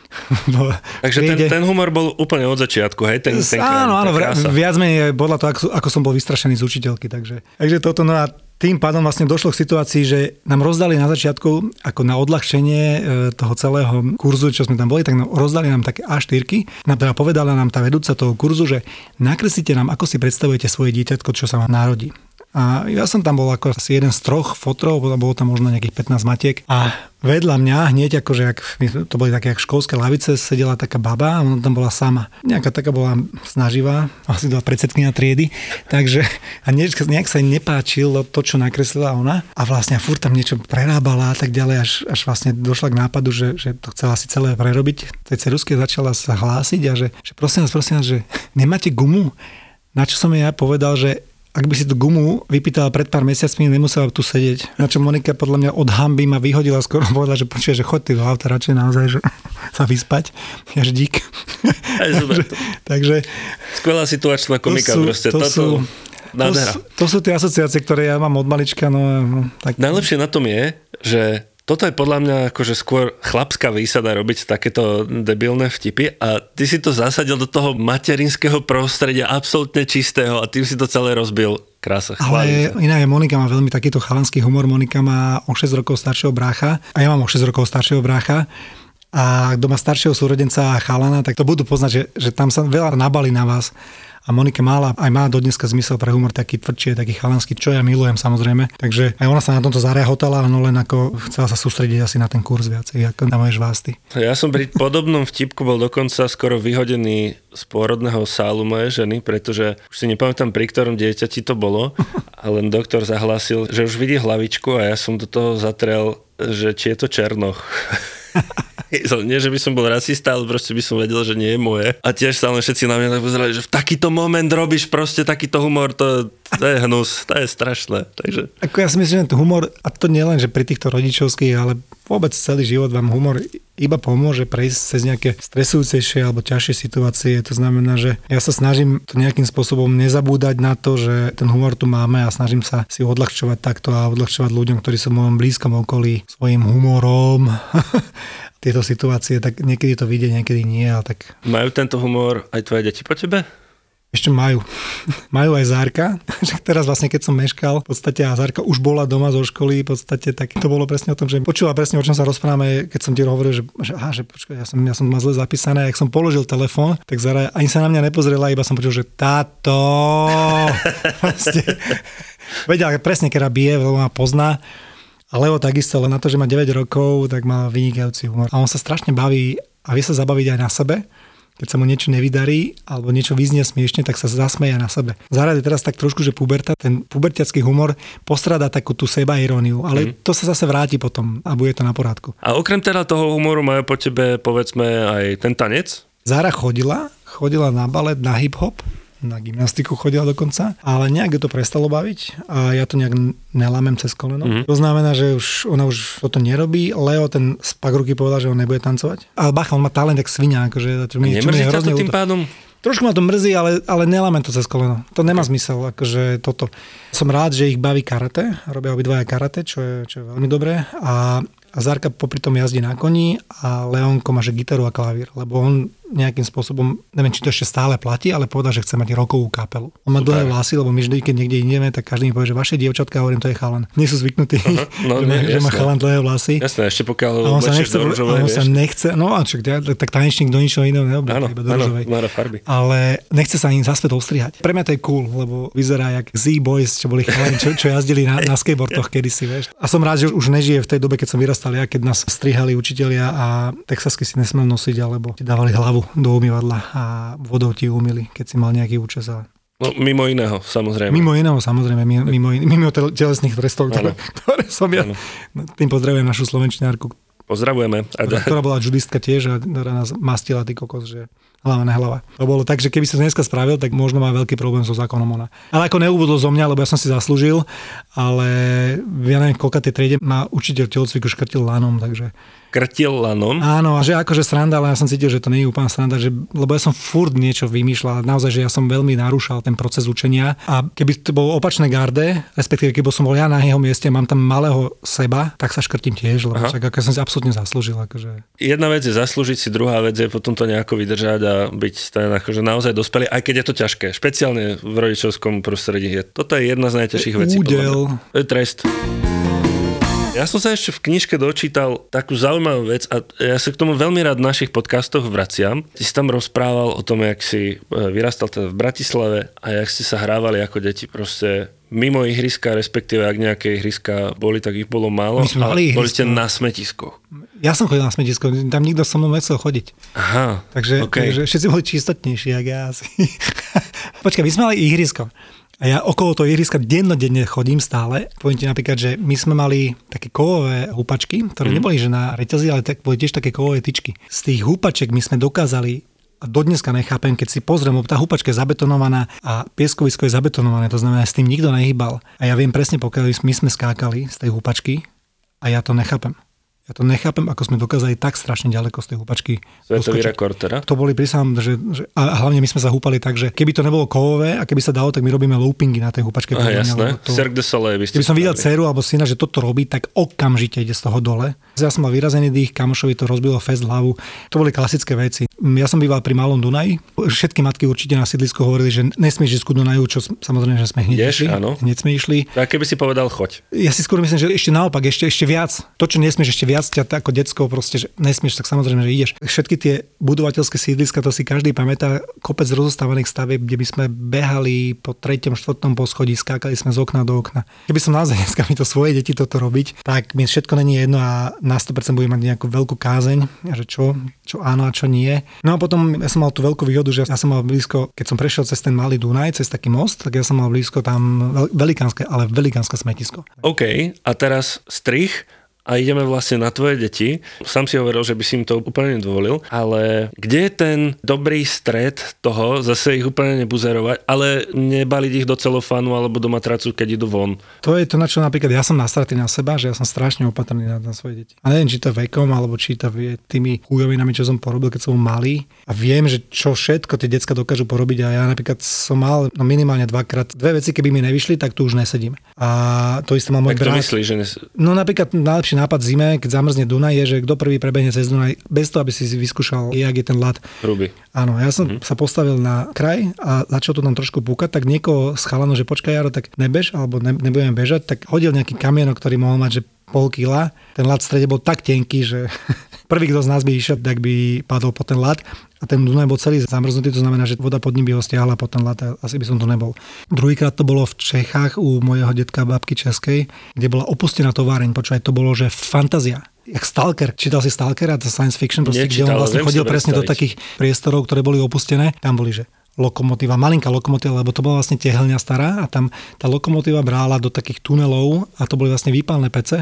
Takže ten humor bol úplne od začiatku, hej? Áno, viac menej podľa toho, ako som bol vystrašený z učiteľky. Takže toto, no a tým pádom vlastne došlo k situácii, že nám rozdali na začiatku, ako na odľahčenie toho celého kurzu, čo sme tam boli, tak rozdali nám také A4, teda povedala nám tá vedúca toho kurzu, že nakreslite nám, ako si predstavujete svoje dieťatko, čo sa vám narodí. A ja som tam bol ako asi jeden z 3 fotrov, bolo tam možno nejakých 15 matiek a vedľa mňa hneď akože, to boli také jak školské lavice, sedela taká baba a ona tam bola sama. Nejaká taká bola snaživá, asi bola predsedkynia triedy, takže a nejak sa jej nepáčilo to, čo nakreslila ona a vlastne furt tam niečo prerábala a tak ďalej, až vlastne došla k nápadu, že to chcela si celé prerobiť. Tej ceruske začala sa hlásiť a že prosím vás, že nemáte gumu? Na čo som jej ja povedal, že ak by si tú gumu vypýtala pred pár mesiacmi, nemusela tu sedieť. Na čo Monika podľa mňa od hanby ma vyhodila, skoro povedala, že počuje, že choď ty do auta radšej naozaj, že sa vyspať. Jaž dík. Takže skvelá situačná komika proste. To sú tie asociácie, ktoré ja mám od malička. Tak... Najlepšie na tom je, že toto je podľa mňa akože skôr chlapská výsada robiť takéto debilné vtipy a ty si to zasadil do toho materinského prostredia absolútne čistého a tým si to celé rozbil. Krása. Ale iná je, Monika má veľmi takýto chalanský humor. Monika má o 6 rokov staršieho brácha a ja mám o 6 rokov staršieho brácha. A kto má staršieho súrodenca a chalana, tak to budú poznať, že tam sa veľa nabalí na vás. A Monika mala, aj má dodneska zmysel pre humor taký tvrdší, taký chalanský, čo ja milujem samozrejme. Takže aj ona sa na tomto zarehotala, no len ako chcela sa sústrediť asi na ten kurz viacej, ako na moje žvásty. Ja som pri podobnom vtipku bol dokonca skoro vyhodený z pôrodného sálu mojej ženy, pretože už si nepamätám, pri ktorom dieťati to bolo, a len doktor zahlásil, že už vidí hlavičku a ja som do toho zatrel, že či je to Černoch. Nie, že by som bol rasista, ale proste by som vedel, že nie je moje. A tiež sa len všetci na mňa tak pozerali, že v takýto moment robíš proste takýto humor, to je hnus, to je strašné. Takže... Ako ja si myslím, že ten humor, a to nie len, že pri týchto rodičovských, ale vôbec celý život vám humor iba pomôže prejsť cez nejaké stresujúcejšie alebo ťažšie situácie. To znamená, že ja sa snažím to nejakým spôsobom nezabúdať na to, že ten humor tu máme a snažím sa si odľahčovať takto a odľahčovať ľuďom, ktorí sú v mojom blízkom okolí svojím humorom. Tieto situácie, tak niekedy to vyjde, niekedy nie. Ale tak... Majú tento humor aj tvoje deti po tebe? Ešte majú. Majú aj Zárka. Teraz vlastne, keď som meškal, v podstate a Zárka už bola doma zo školy, v podstate, tak to bolo presne o tom, že počula presne, o čom sa rozprávame, keď som ti hovoril, že počkaj, ja som mal zle zapísané, ak som položil telefón, tak Zára ani sa na mňa nepozrela, iba som počul, že táto. Vedela presne, keď bije, lebo ma pozná. A Leo takisto, len na to, že má 9 rokov, tak má vynikajúci humor. A on sa strašne baví a vie sa zabaviť aj na sebe. Keď sa mu niečo nevydarí alebo niečo vyznie smiešne, tak sa zasmeje na sebe. Zároveň teraz tak trošku, že puberta, ten pubertiacký humor postráda takú tú sebairóniu, ale to sa zase vráti potom a bude to na porádku. A okrem teda toho humoru majú po tebe, povedzme, aj ten tanec? Zára chodila na balet, na hip-hop, na gymnastiku chodila dokonca, ale nejak ju to prestalo baviť a ja to nejak nelámem cez koleno. To znamená, že ona už toto nerobí. Leo ten z Pagruky povedal, že on nebude tancovať. Ale bacha, on má talent jak svinia. Akože, nemrzí ťa to tým pádom? Trošku ma to mrzí, ale nelámem to cez koleno. To nemá zmysel. Akože toto. Som rád, že ich baví karate. Robia obidvaja karate, čo je veľmi dobré. A Zárka popri tom jazdí na koni a Leonko má že gitaru a klavír, lebo on nejakým spôsobom, neviem, či to ešte stále platí, ale povedal, že chce mať rokovú kapelu. On má dlhé vlasy, lebo my vždy, keď niekde ideme, tak každý mi povie, že vaše dievčatka, hovorím, to je chalan. Nie sú zvyknutí, že má chalan dlhé vlasy. Jasné, ešte pokiaľ oblečíš do ružovej, on sa nechce, no a čo, tak tanečník do ničoho iného neoblečí, iba do ružovej. Ale nechce sa im zaspäť ostrihať. Pre mňa to je cool, lebo vyzerá jak Z-Boys, čo boli chalani, čo jazdili na skateboardoch kedysi, vieš. A som rád, že už nežije v tej dobe, keď som vyrastal ja, keď nás strihali učitelia a texasky si nesmel nosiť, alebo ti dávali hlavu do umývadla a vodou ti umýli, keď si mal nejaký účes. No, mimo iného, samozrejme. Mimo telesných trestov, ktoré som ja. Ano. Tým pozdravujem našu slovenčinárku. Pozdravujeme. Ktorá bola judistka tiež a ktorá nás mastila, ty kokos, že hlava nehlava. To bolo tak, že keby si to dneska spravil, tak možno má veľký problém so zákonom ona. Ale ako neubudol zo mňa, lebo ja som si zaslúžil, ale ja neviem, koľka tej triede má učiteľ telocviku škrtil lanom, takže... Krtil lanom? Áno, a že akože sranda, ale ja som cítil, že to nie je úplne sranda, lebo ja som furt niečo vymýšľal, naozaj, že ja som veľmi narúšal ten proces učenia a keby to bolo opačné garde, respektíve keby som bol ja na jeho mieste, mám tam malého seba, tak sa škrtím tiež, lebo však ako ja som si absolútne zaslúžil. Akože... Jedna vec je zaslúžiť si, druhá vec je potom to nejako vydržať a byť ten akože naozaj dospelý, aj keď je to ťažké, špeciálne v rodičovskom prostredí. Toto je jedna z najťažších vecí. Údel. To je trest. Ja som sa ešte v knižke dočítal takú zaujímavú vec a ja sa k tomu veľmi rád v našich podcastoch vraciam. Ty si tam rozprával o tom, jak si vyrastal teda v Bratislave a jak si sa hrávali ako deti proste mimo ihriska, respektíve ak nejaké ihriska boli, tak ich bolo málo. Boli ste na smetiskoch. Ja som chodil na smetisko, tam nikto so mnou nechcel chodiť. Aha, takže všetci boli čistotnejší, jak ja asi. Počkaj, my sme mali ihrisko. A ja okolo toho ihriska dennodenne chodím stále. Poviem ti napríklad, že my sme mali také kovové húpačky, ktoré neboli že na reťazi, ale tak boli tiež také kovové tyčky. Z tých húpaček my sme dokázali, a dodneska nechápem, keď si pozriem, tá húpačka je zabetonovaná a pieskovisko je zabetonované, to znamená, s tým nikto nehýbal. A ja viem presne, pokiaľ my sme skákali z tej húpačky a ja to nechápem. Ja to nechápem, ako sme dokázali tak strašne ďaleko z tej húpačky. Svetový rekord teda? To boli prísahám, a hlavne my sme sa húpali tak, že keby to nebolo kovové a keby sa dalo, tak my robíme loopingy na tej húpačke. Aha, jasné. Cirque du Soleil by ste keby som videl dceru alebo syna, že toto robí, tak okamžite ide z toho dole. Ja som mal vyrazený dých, kamošovi to rozbilo fest hlavu. To boli klasické veci. Ja som býval pri Malom Dunaji. Všetky matky určite na sídlisku hovorili, že nesmieš ísť ku Dunaju, čo samozrejme, že sme hneď išli. Hneď sme išli. A keby si povedal choď. Ja si skôr myslím, že ešte naopak, ešte viac. To, čo nesmieš ešte viac, ťa ako decko proste, že nesmieš, tak samozrejme, že ideš. Všetky tie budovateľské sídliska, to si každý pamätá, kopec rozostávaných stavieb, kde by sme behali po 3., 4. poschodí, skákali sme z okna do okna. Keby som naozaj dneska mi to svoje deti toto robiť, tak mi všetko není jedno a na 100% budem mať nejakú veľkú kázeň, že čo áno a čo nie. No a potom ja som mal tú veľkú výhodu, že ja som mal blízko, keď som prešiel cez ten Malý Dunaj, cez taký most, tak ja som mal blízko tam velikánske smetisko. OK, a teraz strich a ideme vlastne na tvoje deti. Sám si hovoril, že by si im to úplne nedovolil, ale kde je ten dobrý stred toho, zase ich úplne nebuzerovať, ale nebaliť ich do celofánu alebo do matracu, keď idú von? To je to, na čo napríklad ja som nastratý na seba, že ja som strašne opatrný na svoje deti. A neviem, či to vekom, alebo či to je tými chujovinami, čo som porobil, keď som malý. A viem, že čo všetko tie decka dokážu porobiť a ja napríklad som mal minimálne 2 veci, keby mi nevyšli, tak tu už nesedím. A to isté mal môj brat. Myslíš, že No napríklad najlepší nápad zime, keď zamrzne Dunaj, je, že kto prvý prebehne cez Dunaj, bez toho, aby si vyskúšal, jak je ten ľad. Hrubý. Áno, ja som sa postavil na kraj a začal to tam trošku púkať, tak niekoho z chalanov, že počkaj Jaro, tak nebež, alebo nebudeme bežať, tak hodil nejaký kamienok, ktorý mohol mať, že 0,5 kila. Ten ľad v strede bol tak tenký, že prvý, kto z nás by išiel, tak by padol po ten ľad. A ten Dunaj bol celý zamrznutý, to znamená, že voda pod ním by ho stiahla po ten ľad a asi by som to nebol. Druhýkrát to bolo v Čechách u mojeho detka babky českej, kde bola opustená továreň. Počúvaj, to bolo, že fantázia. Jak Stalker. Čítal si Stalkera, to science fiction, proste, kde on vlastne chodil presne do takých priestorov, ktoré boli opustené. Tam boli, že lokomotíva, malinká lokomotíva, lebo to bola vlastne tehelňa stará a tam tá lokomotíva brála do takých tunelov a to boli vlastne výpalné pece,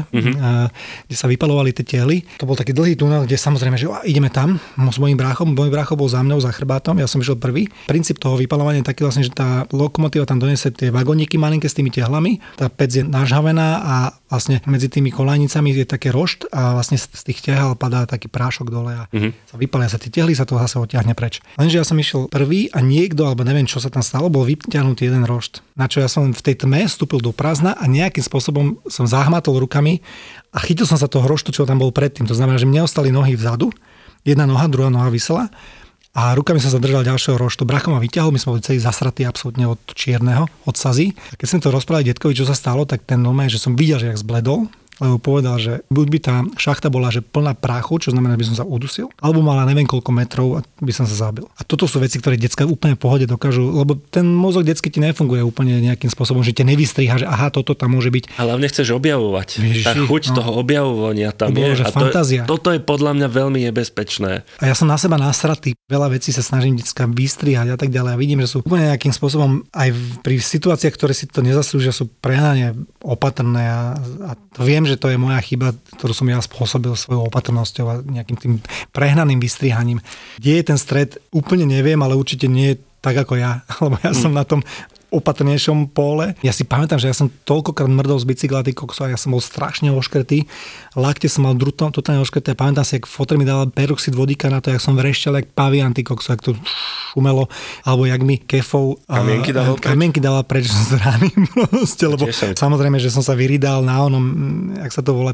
kde sa vypalovali tie tehly. To bol taký dlhý tunel, kde samozrejme, že ideme tam s mojím bráchom. Môj brácho bol za mnou, za chrbátom, ja som išiel prvý. Princíp toho vypalovania je taký vlastne, že tá lokomotíva tam donesie tie vagóniky malinké s tými tehlami. Tá pec je nažhavená a vlastne medzi tými kolajnicami je také rošt a vlastne z tých tehel padá taký prášok dole a sa vypalia sa tie tehly, sa to zase odtiahne preč. Lenže ja som išiel prvý a niekto, alebo neviem, čo sa tam stalo, bol vyťahnutý jeden rošt. Na čo ja som v tej tme vstúpil do prázdna a nejakým spôsobom som zahmatol rukami a chytil som sa toho roštu, čo tam bol predtým. To znamená, že mne ostali nohy vzadu, jedna noha, druhá noha visela a rukami som zadržal ďalšieho roštu. Bracho ma vyťahol, my sme boli celý zasratí absolútne od čierneho, od sazy. A keď som to rozprávali detkovi, čo sa stalo, tak ten normálne, že som videl, že jak zbledol, lebo povedal, že buď by tá šachta bola že plná prachu, čo znamená, že by som sa udusil, alebo mala neviem koľko metrov a by som sa zabil. A toto sú veci, ktoré decká úplne v pohode dokážu, lebo ten mozog detský ti nefunguje úplne nejakým spôsobom, že ťa nevystriha, že aha, toto tam môže byť. Ale hlavne chceš objavovať. Tá chuť toho objavovania tam je. A fantázia. Toto je podľa mňa veľmi nebezpečné. A ja som na seba nasratý. Veľa vecí sa snažím decká vystrihať a tak ďalej. A vidím, že sú úplne nejakým spôsobom aj pri situáciách, ktoré si to nezaslúžia, sú prehnane opatrné a to viem, že to je moja chyba, ktorú som ja spôsobil svojou opatrnosťou a nejakým tým prehnaným vystrihaním. Kde je ten stred, úplne neviem, ale určite nie je tak ako ja, lebo ja som na tom opatrnejšom pole. Ja si pamätám, že ja som toľkokrát mrdol z bicykla, a ja som bol strašne oškrtý. Lakte som mal totálne oškrté. Pamätám si, jak fotr mi dala peroxid vodíka na to, jak som vrešťal, jak pavian, jak to šumelo, alebo jak mi kefou kamienky dala preč z rány. Proste, lebo samozrejme, že som sa vyrydal na onom, jak sa to volá,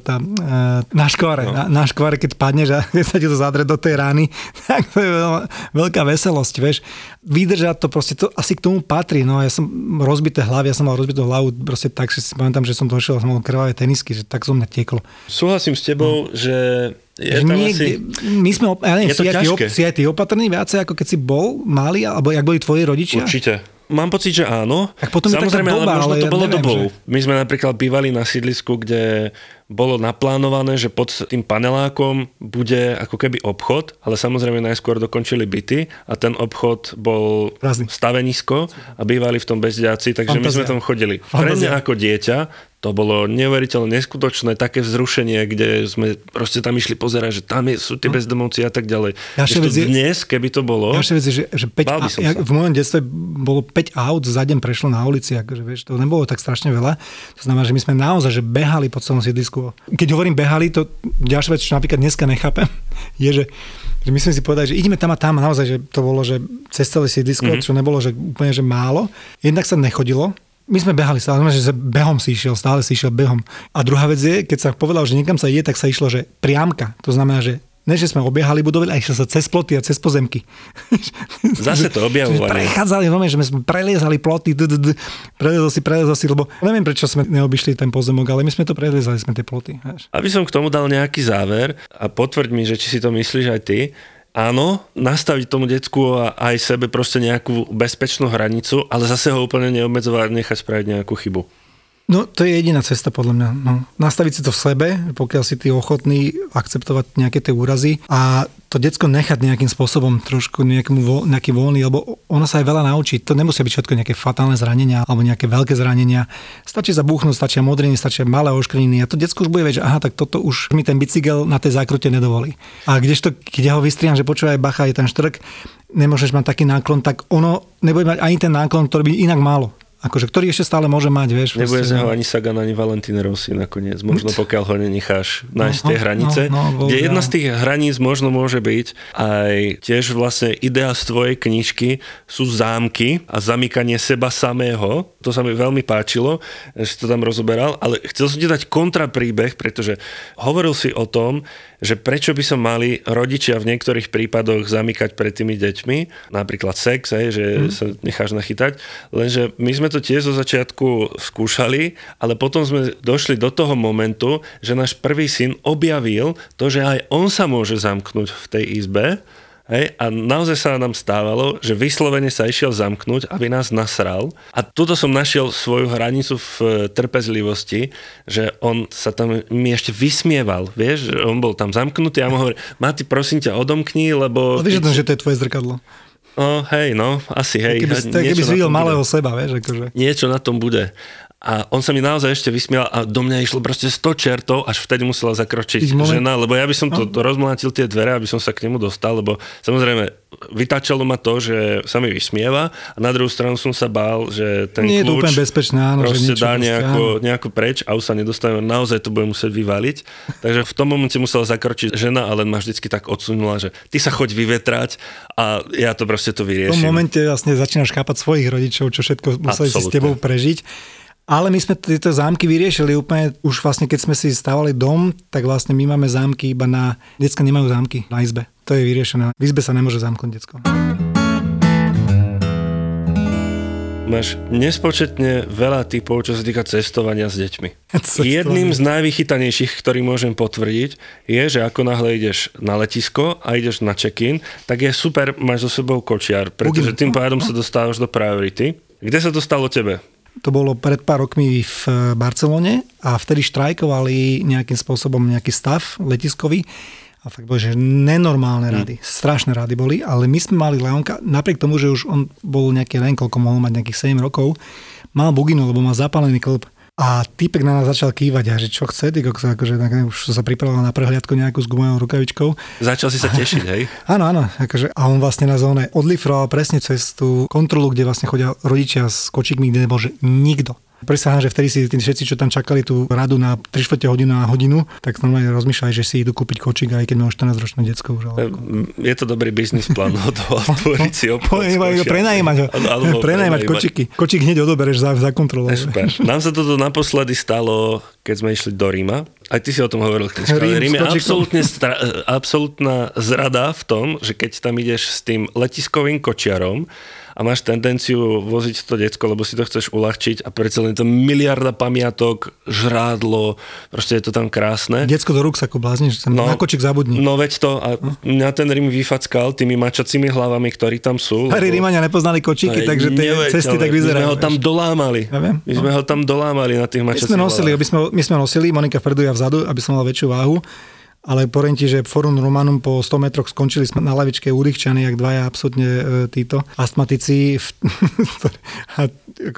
na škvare. Na škvare, keď padneš a keď sa ti to zadre do tej rány, tak to je veľká veselosť, vieš. Vydržať to proste, to asi k tomu patrí. No ja som rozbité hlavy, ja som mal rozbitú hlavu, proste tak, že si pamätám, že som došiel a som mal krvavé tenisky, že tak zo mňa tieklo. Súhlasím s tebou, že je tam niekde, asi... My sme, ja neviem, si aj ty opatrný viacej, ako keď si bol malý, alebo jak boli tvoji rodičia? Určite. Mám pocit, že áno. Tak potom samozrejme, je taká doba, ale možno to bolo neviem, dobou. Že... My sme napríklad bývali na sídlisku, kde bolo naplánované, že pod tým panelákom bude ako keby obchod, ale samozrejme najskôr dokončili byty a ten obchod bol stavenisko a bývali v tom bezďáci, takže my sme tam chodili. Pre mňa ako dieťa to bolo neuveriteľne neskutočné také vzrušenie, kde sme proste tam išli pozerať, že tam sú tie bezdomovci a tak ďalej. Dnes, keby to bolo... Ďalšia vec je, že 5 v mojom detstve bolo 5 aut za deň prešlo na ulici, akože, vieš, to nebolo tak strašne veľa. To znamená, že my sme naozaj že behali po celom sídlisku otázku. Keď hovorím behali, to ďalšia vec, čo napríklad dneska nechápem, je, že my sme si povedali, že ideme tam a tam, a naozaj, že to bolo, že cez celé sídlisko, čo nebolo, že úplne, že málo. Jednak sa nechodilo. My sme behali stále, že behom si išiel, stále si išiel behom. A druhá vec je, keď sa povedal, že niekam sa ide, tak sa išlo, že priamka. To znamená, že ne, že sme obiehali budovy, a išlo sa cez ploty a cez pozemky. Zase to objavovanie. Prechádzali, že sme preliezali ploty, preliezol si, lebo neviem, prečo sme neobyšli ten pozemok, ale my sme to preliezali, sme tie ploty. Aby som k tomu dal nejaký záver a potvrď mi, že či si to myslíš aj ty, áno, nastaviť tomu decku a aj sebe proste nejakú bezpečnú hranicu, ale zase ho úplne neobmedzovať, nechať spraviť nejakú chybu. No, to je jediná cesta, podľa mňa. No, nastaviť si to v sebe, pokiaľ si ty ochotný akceptovať nejaké tie úrazy a to decko nechať nejakým spôsobom trošku nejaký voľný, lebo ono sa aj veľa naučí. To nemusia byť všetko nejaké fatálne zranenia alebo nejaké veľké zranenia. Stačí zabúchnuť, stačia modriny, stačia malé oškrininy a to decko už bude vedieť, že aha, tak toto už mi ten bicykel na tej zákrute nedovolí. A kdežto, keď ja ho vystriam, že počúvaj, bacha, je ten štrk, nemôžeš mať taký náklon, tak ono nebude mať ani ten náklon, ktorý by inak málo. Akože, ktorý ešte stále môže mať, vieš. Nebude z neho ani Sagan, ani Valentino Rossi nakoniec. Možno pokiaľ ho nenecháš nájsť tie hranice. Kde jedna z tých hraníc možno môže byť aj tiež vlastne idea z tvojej knižky sú zámky a zamykanie seba samého. To sa mi veľmi páčilo, že si to tam rozoberal, ale chcel som ti dať kontrapríbeh, pretože hovoril si o tom, že prečo by som mali rodičia v niektorých prípadoch zamykať pred tými deťmi, napríklad sex, že sa necháš nachytať, lenže my sme to tiež zo začiatku skúšali, ale potom sme došli do toho momentu, že náš prvý syn objavil to, že aj on sa môže zamknúť v tej izbe. Hej, a naozaj sa nám stávalo, že vyslovene sa išiel zamknúť, aby nás nasral. A tuto som našiel svoju hranicu v trpezlivosti, že on sa tam mi ešte vysmieval, vieš, že on bol tam zamknutý a mu hovorí, Mati, prosím ťa, odomkni, lebo... Ale vieš, že to je tvoje zrkadlo. Asi, hej. Keby si videl malého seba, vieš, akože. Niečo na tom bude. A on sa mi naozaj ešte vysmial a do mňa išlo proste 100 čertov, až vtedy musela zakročiť žena, lebo ja by som to rozmlátil tie dvere, aby som sa k nemu dostal, lebo samozrejme vytáčalo ma to, že sa mi vysmieva a na druhú stranu som sa bál, že ten nie kľúč je to úplne bezpečné, áno, proste že dá nejako preč a už sa nedostaneme, naozaj to bude musieť vyvaliť. Takže v tom momente musela zakročiť žena a len ma vždycky tak odsunula, že ty sa choď vyvetrať a ja to proste to vyriešim. V tom momente vlastne začínaš chápať svojich rodičov, čo všetko museli si s tebou prežiť. Ale my sme tieto zámky vyriešili úplne, už vlastne keď sme si stávali dom, tak vlastne my máme zámky iba na... Decka nemajú zámky na izbe. To je vyriešené. V izbe sa nemôže zamknúť decko. Máš nespočetne veľa typov, čo sa týka cestovania s deťmi. Jedným z najvychytanejších, ktorý môžem potvrdiť, je, že ako náhle ideš na letisko a ideš na check-in, tak je super, máš so sebou kočiar, pretože tým pádom sa dostávaš do priority. Kde sa to stalo tebe? To bolo pred pár rokmi v Barcelone a vtedy štrajkovali nejakým spôsobom nejaký stav letiskový a fakt boli, že nenormálne rady, strašné rady boli, ale my sme mali Leonka, napriek tomu, že už on bol nejaký len, koľko mohol mať, nejakých 7 rokov, mal buginu, lebo mal zapálený klb. A týpek na nás začal kývať a že čo chce, akože už sa pripravoval na prehliadku nejakú s gumovou rukavičkou. Začal si sa tešiť, hej? Áno, akože, a on vlastne na zóne odlifroval presne cez tú kontrolu, kde vlastne chodia rodičia s kočíkmi, kde nebol že nikto. Prisahám, že vtedy si tí všetci, čo tam čakali tú radu na 3/4 hodinu na hodinu, tak normálne rozmýšľali, že si idú kúpiť kočík, aj keď majú 14-ročné decko už. Je to dobrý biznis plán, otvoriť si obchod. Prenajímať ho. Prenajímať kočíky. Kočík hneď odobereš za kontrolu. Super. Nám sa toto naposledy stalo, keď sme išli do Ríma. Aj ty si o tom hovoril, knižka. Rím je absolútna zrada v tom, že keď tam ideš s tým letiskovým kočiarom a máš tendenciu voziť to decko, lebo si to chceš uľahčiť a predsa len to miliarda pamiatok, žrádlo, proste je to tam krásne. Decko do ruksaku blázniš, na kočík zabudni. No veď to a mňa ten Rím vyfackal tými mačacími hlavami, ktorí tam sú. Lebo... Rímania nepoznali kočíky, takže tie cesty tak vyzerajú. My sme ho tam dolámali. My sme ho tam dolámali na tých mačacích hlavách. My sme nosili, Monika vpredu, ja vzadu, aby som mal väčšiu váhu. Ale poviem ti, že Forum Romanum po 100 metroch skončili sme na lavičke udýchčaní, jak dvaja absolútne títo astmatici. A akože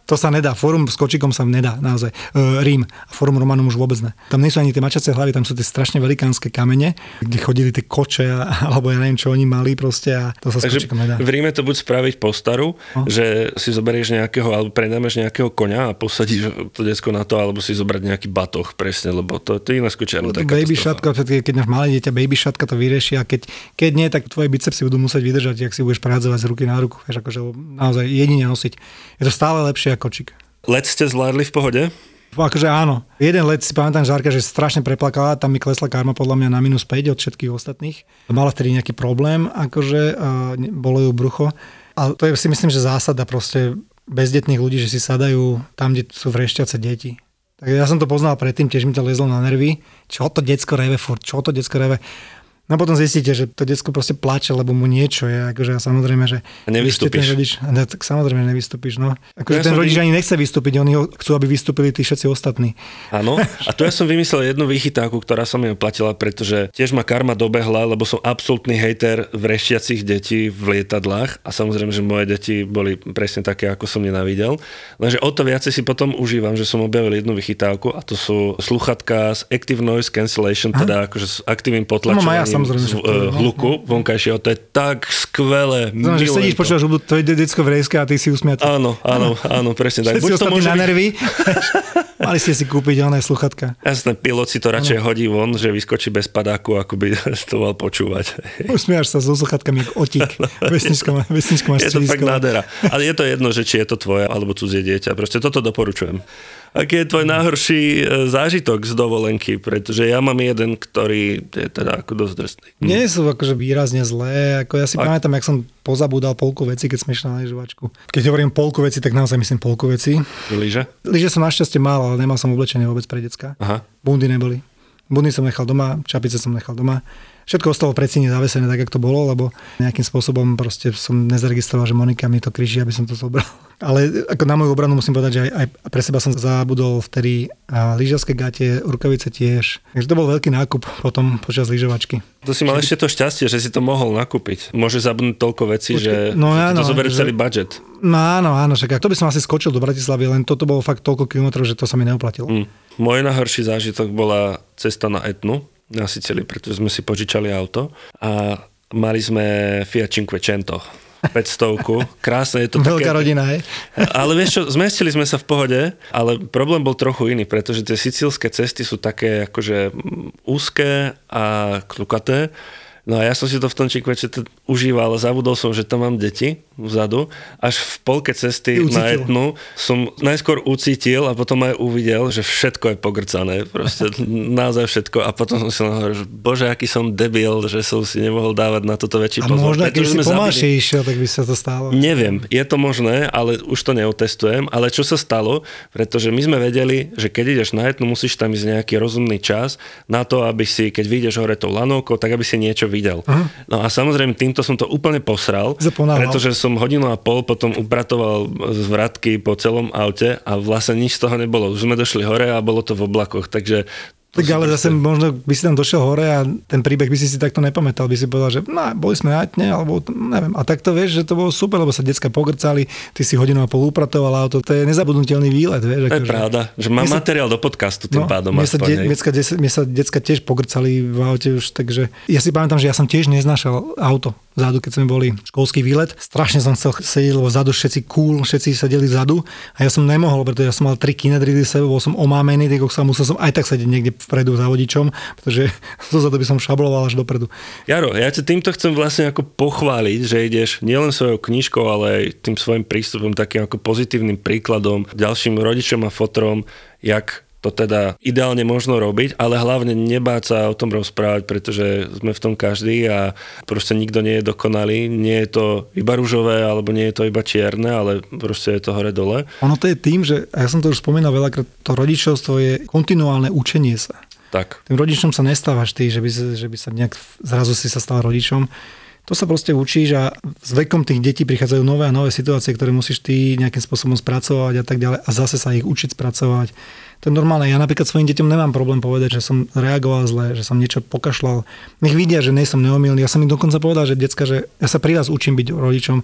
To sa nedá. Fórum s kočikom sa nedá, naozaj. Rím a Fórum Romanum už vôbec ne. Tam nie sú ani tie mačacie hlavy, tam sú tie strašne velikánske kamene, kde chodili tie koče alebo ja neviem, čo oni mali proste a to sa s kočikom nedá. V Ríme to buď spraviť postaru, že si zoberieš nejakého alebo prenámeš nejakého koňa a posadíš to decko na to, alebo si zobrať nejaký batoh presne, lebo to je iné skočiarne. Baby šatka, keď máš malé dieťa, baby šatka to vyrieši a keď nie, tak tvoje bicepsy budú musieť vydržať, ak si budeš prehádzovať z ruky na ruku. Vieš, akože naozaj jedine nosiť. Je to stále lepšie kočík. Let ste zvládli v pohode? Akože áno. Jeden let si pamätám, Žárka, že strašne preplakala, tam mi klesla karma podľa mňa na -5 od všetkých ostatných. Mala vtedy nejaký problém, akože bolo ju brucho. A to je si myslím, že zásada proste bezdetných ľudí, že si sadajú tam, kde sú vrešťace deti. Tak ja som to poznal predtým, tiež mi to lezlo na nervy. Čo to decko reve furt, čo to decko reve. No potom zistíte, že to decko proste plače, lebo mu niečo je, akože samozrejme, že... A nevystúpiš. Rodič, tak samozrejme nevystúpiš, no. Akože ten rodič ani nechce vystúpiť, oni chcú, aby vystúpili tí všetci ostatní. Áno, a tu ja som vymyslel jednu vychytávku, ktorá sa mi oplatila, pretože tiež ma karma dobehla, lebo som absolútny hejter vrešťacích detí v lietadlách a samozrejme, že moje deti boli presne také, ako som nenávidel. Lenže o to viacej si potom užívam, že som objavil jednu vychytávku a to sú sluchatka s Active Noise Cancellation, teda akože s aktívnym potlačovaním hluku vonkajšieho. To je tak skvelé. Znamená, že sedíš, počúvaš hudbu, to je decko vrejské a ty si usmiatý. Áno, presne tak. Všetci ostatní na nervy. Mali ste si kúpiť oné sluchatka. Jasné, pilot si to radšej hodí von, že vyskočí bez padáku, ako by to mal počúvať. Usmievaš sa so sluchatkami ako otík. Vesnička máš. Je to fakt nádhera. Ale je to jedno, že či je to tvoje alebo cudzie dieťa. Proste toto doporučujem. Aký je tvoj najhorší zážitok z dovolenky? Pretože ja mám jeden, ktorý je teda ako dosť drsný. Nie sú akože výrazne zlé. Ako ja si pamätám, jak som pozabúdal polku veci, keď sme išli na lyžovačku. Keď hovorím polku veci, tak naozaj myslím polku veci. Lyže? Lyže som našťastie mal, ale nemal som oblečenie vôbec pre decka. Aha. Bundy neboli. Bundy som nechal doma, čapice som nechal doma. Všetko ostalo pred síne zavesené tak, ako to bolo, lebo nejakým spôsobom proste som nezaregistroval, že Monika mi to križí, aby som to zobral. Ale ako na moju obranu musím povedať, že aj pre seba som zabudol vtedy lyžařské gate, rukavice tiež. Takže to bol veľký nákup potom počas lyžovačky. To si mal ešte to šťastie, že si to mohol nakúpiť. Môže zabudnúť toľko vecí, že to zoberie celý budget. No áno, však to by som asi skočil do Bratislavy, len toto bolo fakt toľko kilometrov, že to sa mi neoplatilo. Môj najhorší zážitok bola cesta na Etnu na Sicílii, pretože sme si požičali auto a mali sme Fiat Cinquecento 500, krásne je to. Veľká rodina, hej? Ale vieš čo, zmestili sme sa v pohode, ale problém bol trochu iný, pretože tie sicílske cesty sú také akože úzké a klukaté. No a ja som si to v tom Cinquecento užíval, ale zabudol som, že tam mám deti vzadu. Až v polke cesty na Etnu som najskôr ucítil a potom aj uvidel, že všetko je pogrcané. Proste naozaj všetko. A potom som si hovoril, že bože, aký som debil, že som si nemohol dávať na toto väčší pozor. A možno, keď si pomalšie išiel, tak by sa to stalo. Neviem, je to možné, ale už to neotestujem. Ale čo sa stalo? Pretože my sme vedeli, že keď ideš na Etnu, musíš tam ísť nejaký rozumný čas na to, aby si, keď vyjdeš hore tou lanovkou, tak aby si niečo videl. No a samozrejme týmto som to úplne posral, pretože som hodinu a pol potom upratoval z vratky po celom aute a vlastne nič z toho nebolo. Už sme došli hore a bolo to v oblakoch, takže... Tak ale zase možno by si tam došiel hore a ten príbeh by si takto nepamätal, by si povedal, že boli sme na Etne, alebo neviem. A tak to vieš, že to bolo super, lebo sa decka pogrcali, ty si hodinu a pol upratoval auto, to je nezabudnutelný výlet, vieš. To je pravda, že mám materiál do podcastu tým pádom. Mne sa decka tiež pogrcali v aute už, takže ja si pamätám, že ja som tiež neznášal auto vzadu, keď sme boli školský výlet. Strašne som chcel sedieť, lebo vzadu všetci sedeli vzadu a ja som nemohol, pretože ja som mal 3 kinedridy sebe, bol som omámený, musel som aj tak sedieť niekde vpredu za vodičom, pretože zozadu by som šabloval až dopredu. Jaro, ja ťa týmto chcem vlastne ako pochváliť, že ideš nielen svojou knižkou, ale aj tým svojim prístupom, takým ako pozitívnym príkladom ďalším rodičom a fotrom, jak to teda ideálne možno robiť, ale hlavne nebáť sa o tom rozprávať, pretože sme v tom každý a proste nikto nie je dokonalý, nie je to iba ružové, alebo nie je to iba čierne, ale proste je to hore dole. Ono to je tým, že, a ja som to už spomínal veľakrát, to rodičovstvo je kontinuálne učenie sa. Tak. Tým rodičom sa nestávaš ty, že by sa nejak zrazu si sa stal rodičom. To sa proste učíš a s vekom tých detí prichádzajú nové a nové situácie, ktoré musíš ty nejakým spôsobom spracovať a tak ďalej a zase sa ich učiť spracovať. To je normálne. Ja napríklad svojim deťom nemám problém povedať, že som reagoval zle, že som niečo pokašľal. Nech vidia, že nie som neomylný. Ja som im dokonca povedal, že decka, že ja sa pri vás učím byť rodičom.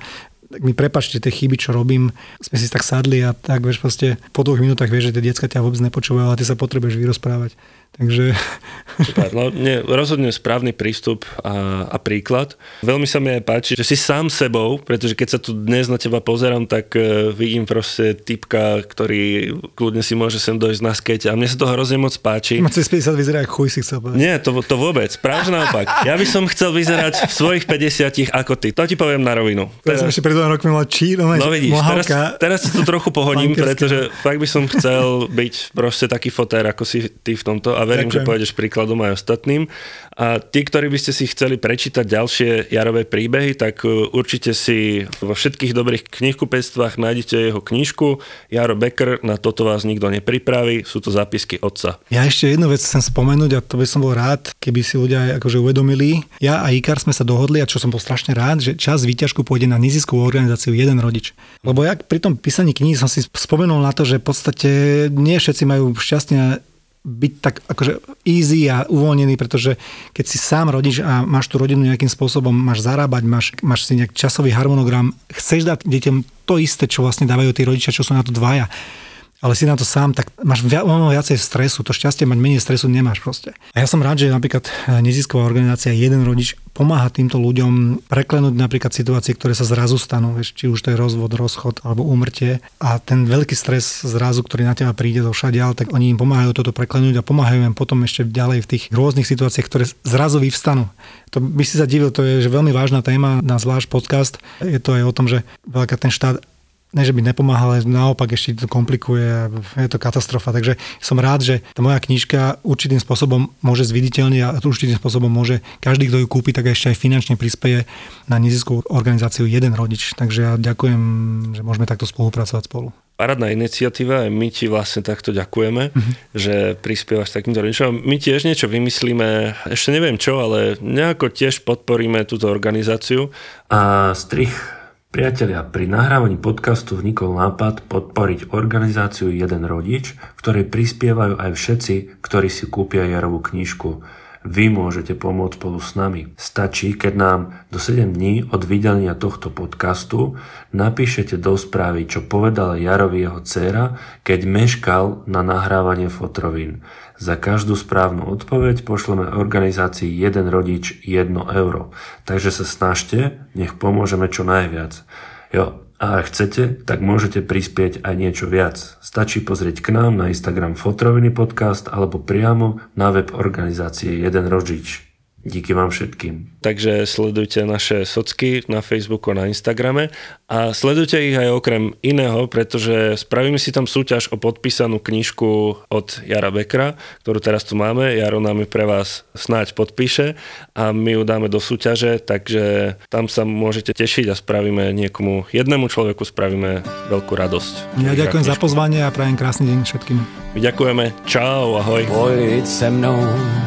tak mi prepáčte tie chyby, čo robím, sme si tak sadli a tak, vieš, proste po 2 minútach vieš, že tie decká ťa vôbec nepočúvajú, ale ty sa potrebuješ vyrozprávať. Takže... Super, no rozhodne správny prístup a príklad. Veľmi sa mi aj páči, že si sám sebou, pretože keď sa tu dnes na teba pozerám, tak vidím proste typka, ktorý kľudne si môže sem dojsť na skate a mne sa to hrozne moc páči. Cez 50 vyzerá ako chuj, si chcel povedať. Nie, to vôbec, práve naopak. Ja by som chcel vyzerať v svojich 50 ako ty. To ti poviem na rovinu. Teraz som ešte pred 2 rokmi mal no vidíš, teraz si to trochu pohodím, pretože fakt by som chcel byť proste taký fotér, ako si ty v tomto. A verím, že pôjdeš príkladom aj ostatným. A tí, ktorí by ste si chceli prečítať ďalšie Jarové príbehy, tak určite si vo všetkých dobrých knihkupectvách nájdete jeho knižku Jaro Becker, Na toto vás nikto nepripraví, sú to zápisky otca. Ja ešte jednu vec chcem spomenúť a to by som bol rád, keby si ľudia akože uvedomili. Ja a Ikar sme sa dohodli, a čo som bol strašne rád, že časť výťažku pôjde na neziskovú organizáciu Jeden rodič. Lebo ja pri tom písaní kníh som si spomenul na to, že v podstate nie všetci majú šťastie byť tak akože easy a uvoľnený, pretože keď si sám rodič a máš tú rodinu nejakým spôsobom, máš zarábať, máš si nejak časový harmonogram, chceš dať deťom to isté, čo vlastne dávajú tí rodičia, čo sú na to dvaja, ale si na to sám, tak máš viacej stresu, to šťastie mať menej stresu nemáš proste. A ja som rád, že napríklad nezisková organizácia Jeden rodič pomáha týmto ľuďom preklenúť napríklad situácie, ktoré sa zrazu stanú, vieš, či už to je rozvod, rozchod alebo úmrtie a ten veľký stres zrazu, ktorý na teba príde do všadiaľ, tak oni im pomáhajú toto preklenúť a pomáhajú im potom ešte ďalej v tých rôznych situáciách, ktoré zrazu vyvstanú. To by si sa divil, to je že veľmi vážna téma na zvlášť podcast. Je to aj o tom, že veľká ten štát ne, že by nepomáhal, ale naopak ešte to komplikuje a je to katastrofa. Takže som rád, že tá moja knižka určitým spôsobom môže zviditeľniť a určitým spôsobom môže každý, kto ju kúpi, tak ešte aj finančne prispeje na neziskovú organizáciu Jeden rodič. Takže ja ďakujem, že môžeme takto spolupracovať spolu. Parádna iniciatíva, my ti vlastne takto ďakujeme, že prispievaš takýmto rodičom. My tiež niečo vymyslíme, ešte neviem čo, ale nejako tiež podporíme túto organizáciu. A strich. Priatelia, pri nahrávaní podcastu vnikol nápad podporiť organizáciu Jeden rodič, v ktorej prispievajú aj všetci, ktorí si kúpia Jarovú knižku. Vy môžete pomôcť spolu s nami. Stačí, keď nám do 7 dní od vydania tohto podcastu napíšete do správy, čo povedala Jarovi jeho dcéra, keď meškal na nahrávanie fotrovín. Za každú správnu odpoveď pošleme organizácii Jeden rodič 1 euro. Takže sa snažte, nech pomôžeme čo najviac. Jo, a ak chcete, tak môžete prispieť aj niečo viac. Stačí pozrieť k nám na Instagram Fotroviny podcast alebo priamo na web organizácie Jeden rodič. Díky vám všetkým. Takže sledujte naše socky na Facebooku a na Instagrame a sledujte ich aj okrem iného, pretože spravíme si tam súťaž o podpísanú knižku od Jara Beckera, ktorú teraz tu máme. Jaro nám ju pre vás snáď podpíše a my ju dáme do súťaže, takže tam sa môžete tešiť a spravíme niekomu, jednému človeku spravíme veľkú radosť. Ja ďakujem za pozvanie a prajem krásny deň všetkým. My ďakujeme. Čau, ahoj. Pojď se mnou,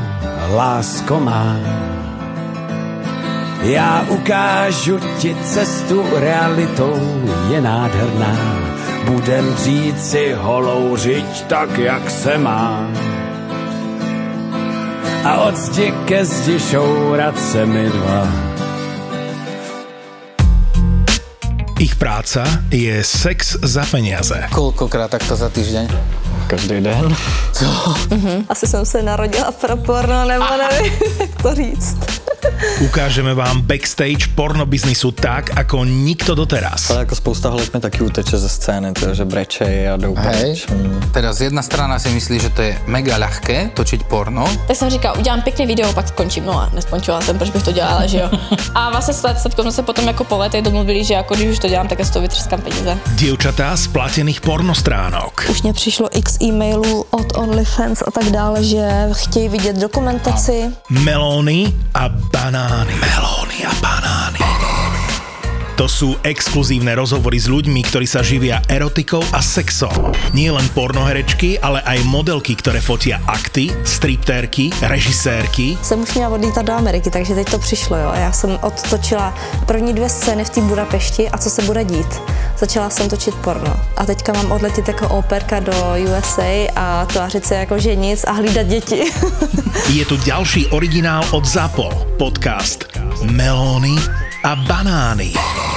lásko má. Já ukážu ti cestu, realitou je nádherná. Budem dřít si holou řiď tak, jak se má. A od zdi ke zdi šourat se mi dva. Ich práca je sex za peniaze. Koľkokrát takto za týždeň? Každý den. Co? Asi jsem se narodila pro porno, nebo nevím, jak to říct. Ukážeme vám backstage pornobiznisu tak, ako nikto doteraz. Ale ako spousta holek mi taky uteče ze scény, že brečej a jdou preč. Teraz jedna strana si myslí, že to je mega ľahké točiť porno. Tak jsem říkala, udělám pěkný video, pak skončím. No a neskončila jsem, proč bych to dělala, že jo. A vlastně s jsme se potom jako po letech domluvili, že jako když už to dělám, tak já z toho vytřeskám peníze. Dievčatá z platených pornostránok. Už mě přišlo x e-mailů od OnlyFans a tak dále, že chtějí vidět dokumentaci. Melóny a banány. Melóny a banány. To sú exkluzívne rozhovory s ľuďmi, ktorí sa živia erotikou a sexom. Nie len pornoherečky, ale aj modelky, ktoré fotia akty, striptérky, režisérky. Jsem už měla odlítat do Ameriky, takže teď to přišlo, jo. Já jsem odtočila první 2 scény v té Budapešti a co se bude dít. Začala jsem točit porno a teďka mám odletět jako operka do USA a tvářit se jako že nic a hlídat děti. Je tu ďalší originál od ZAPO. Podcast Melóny a banány.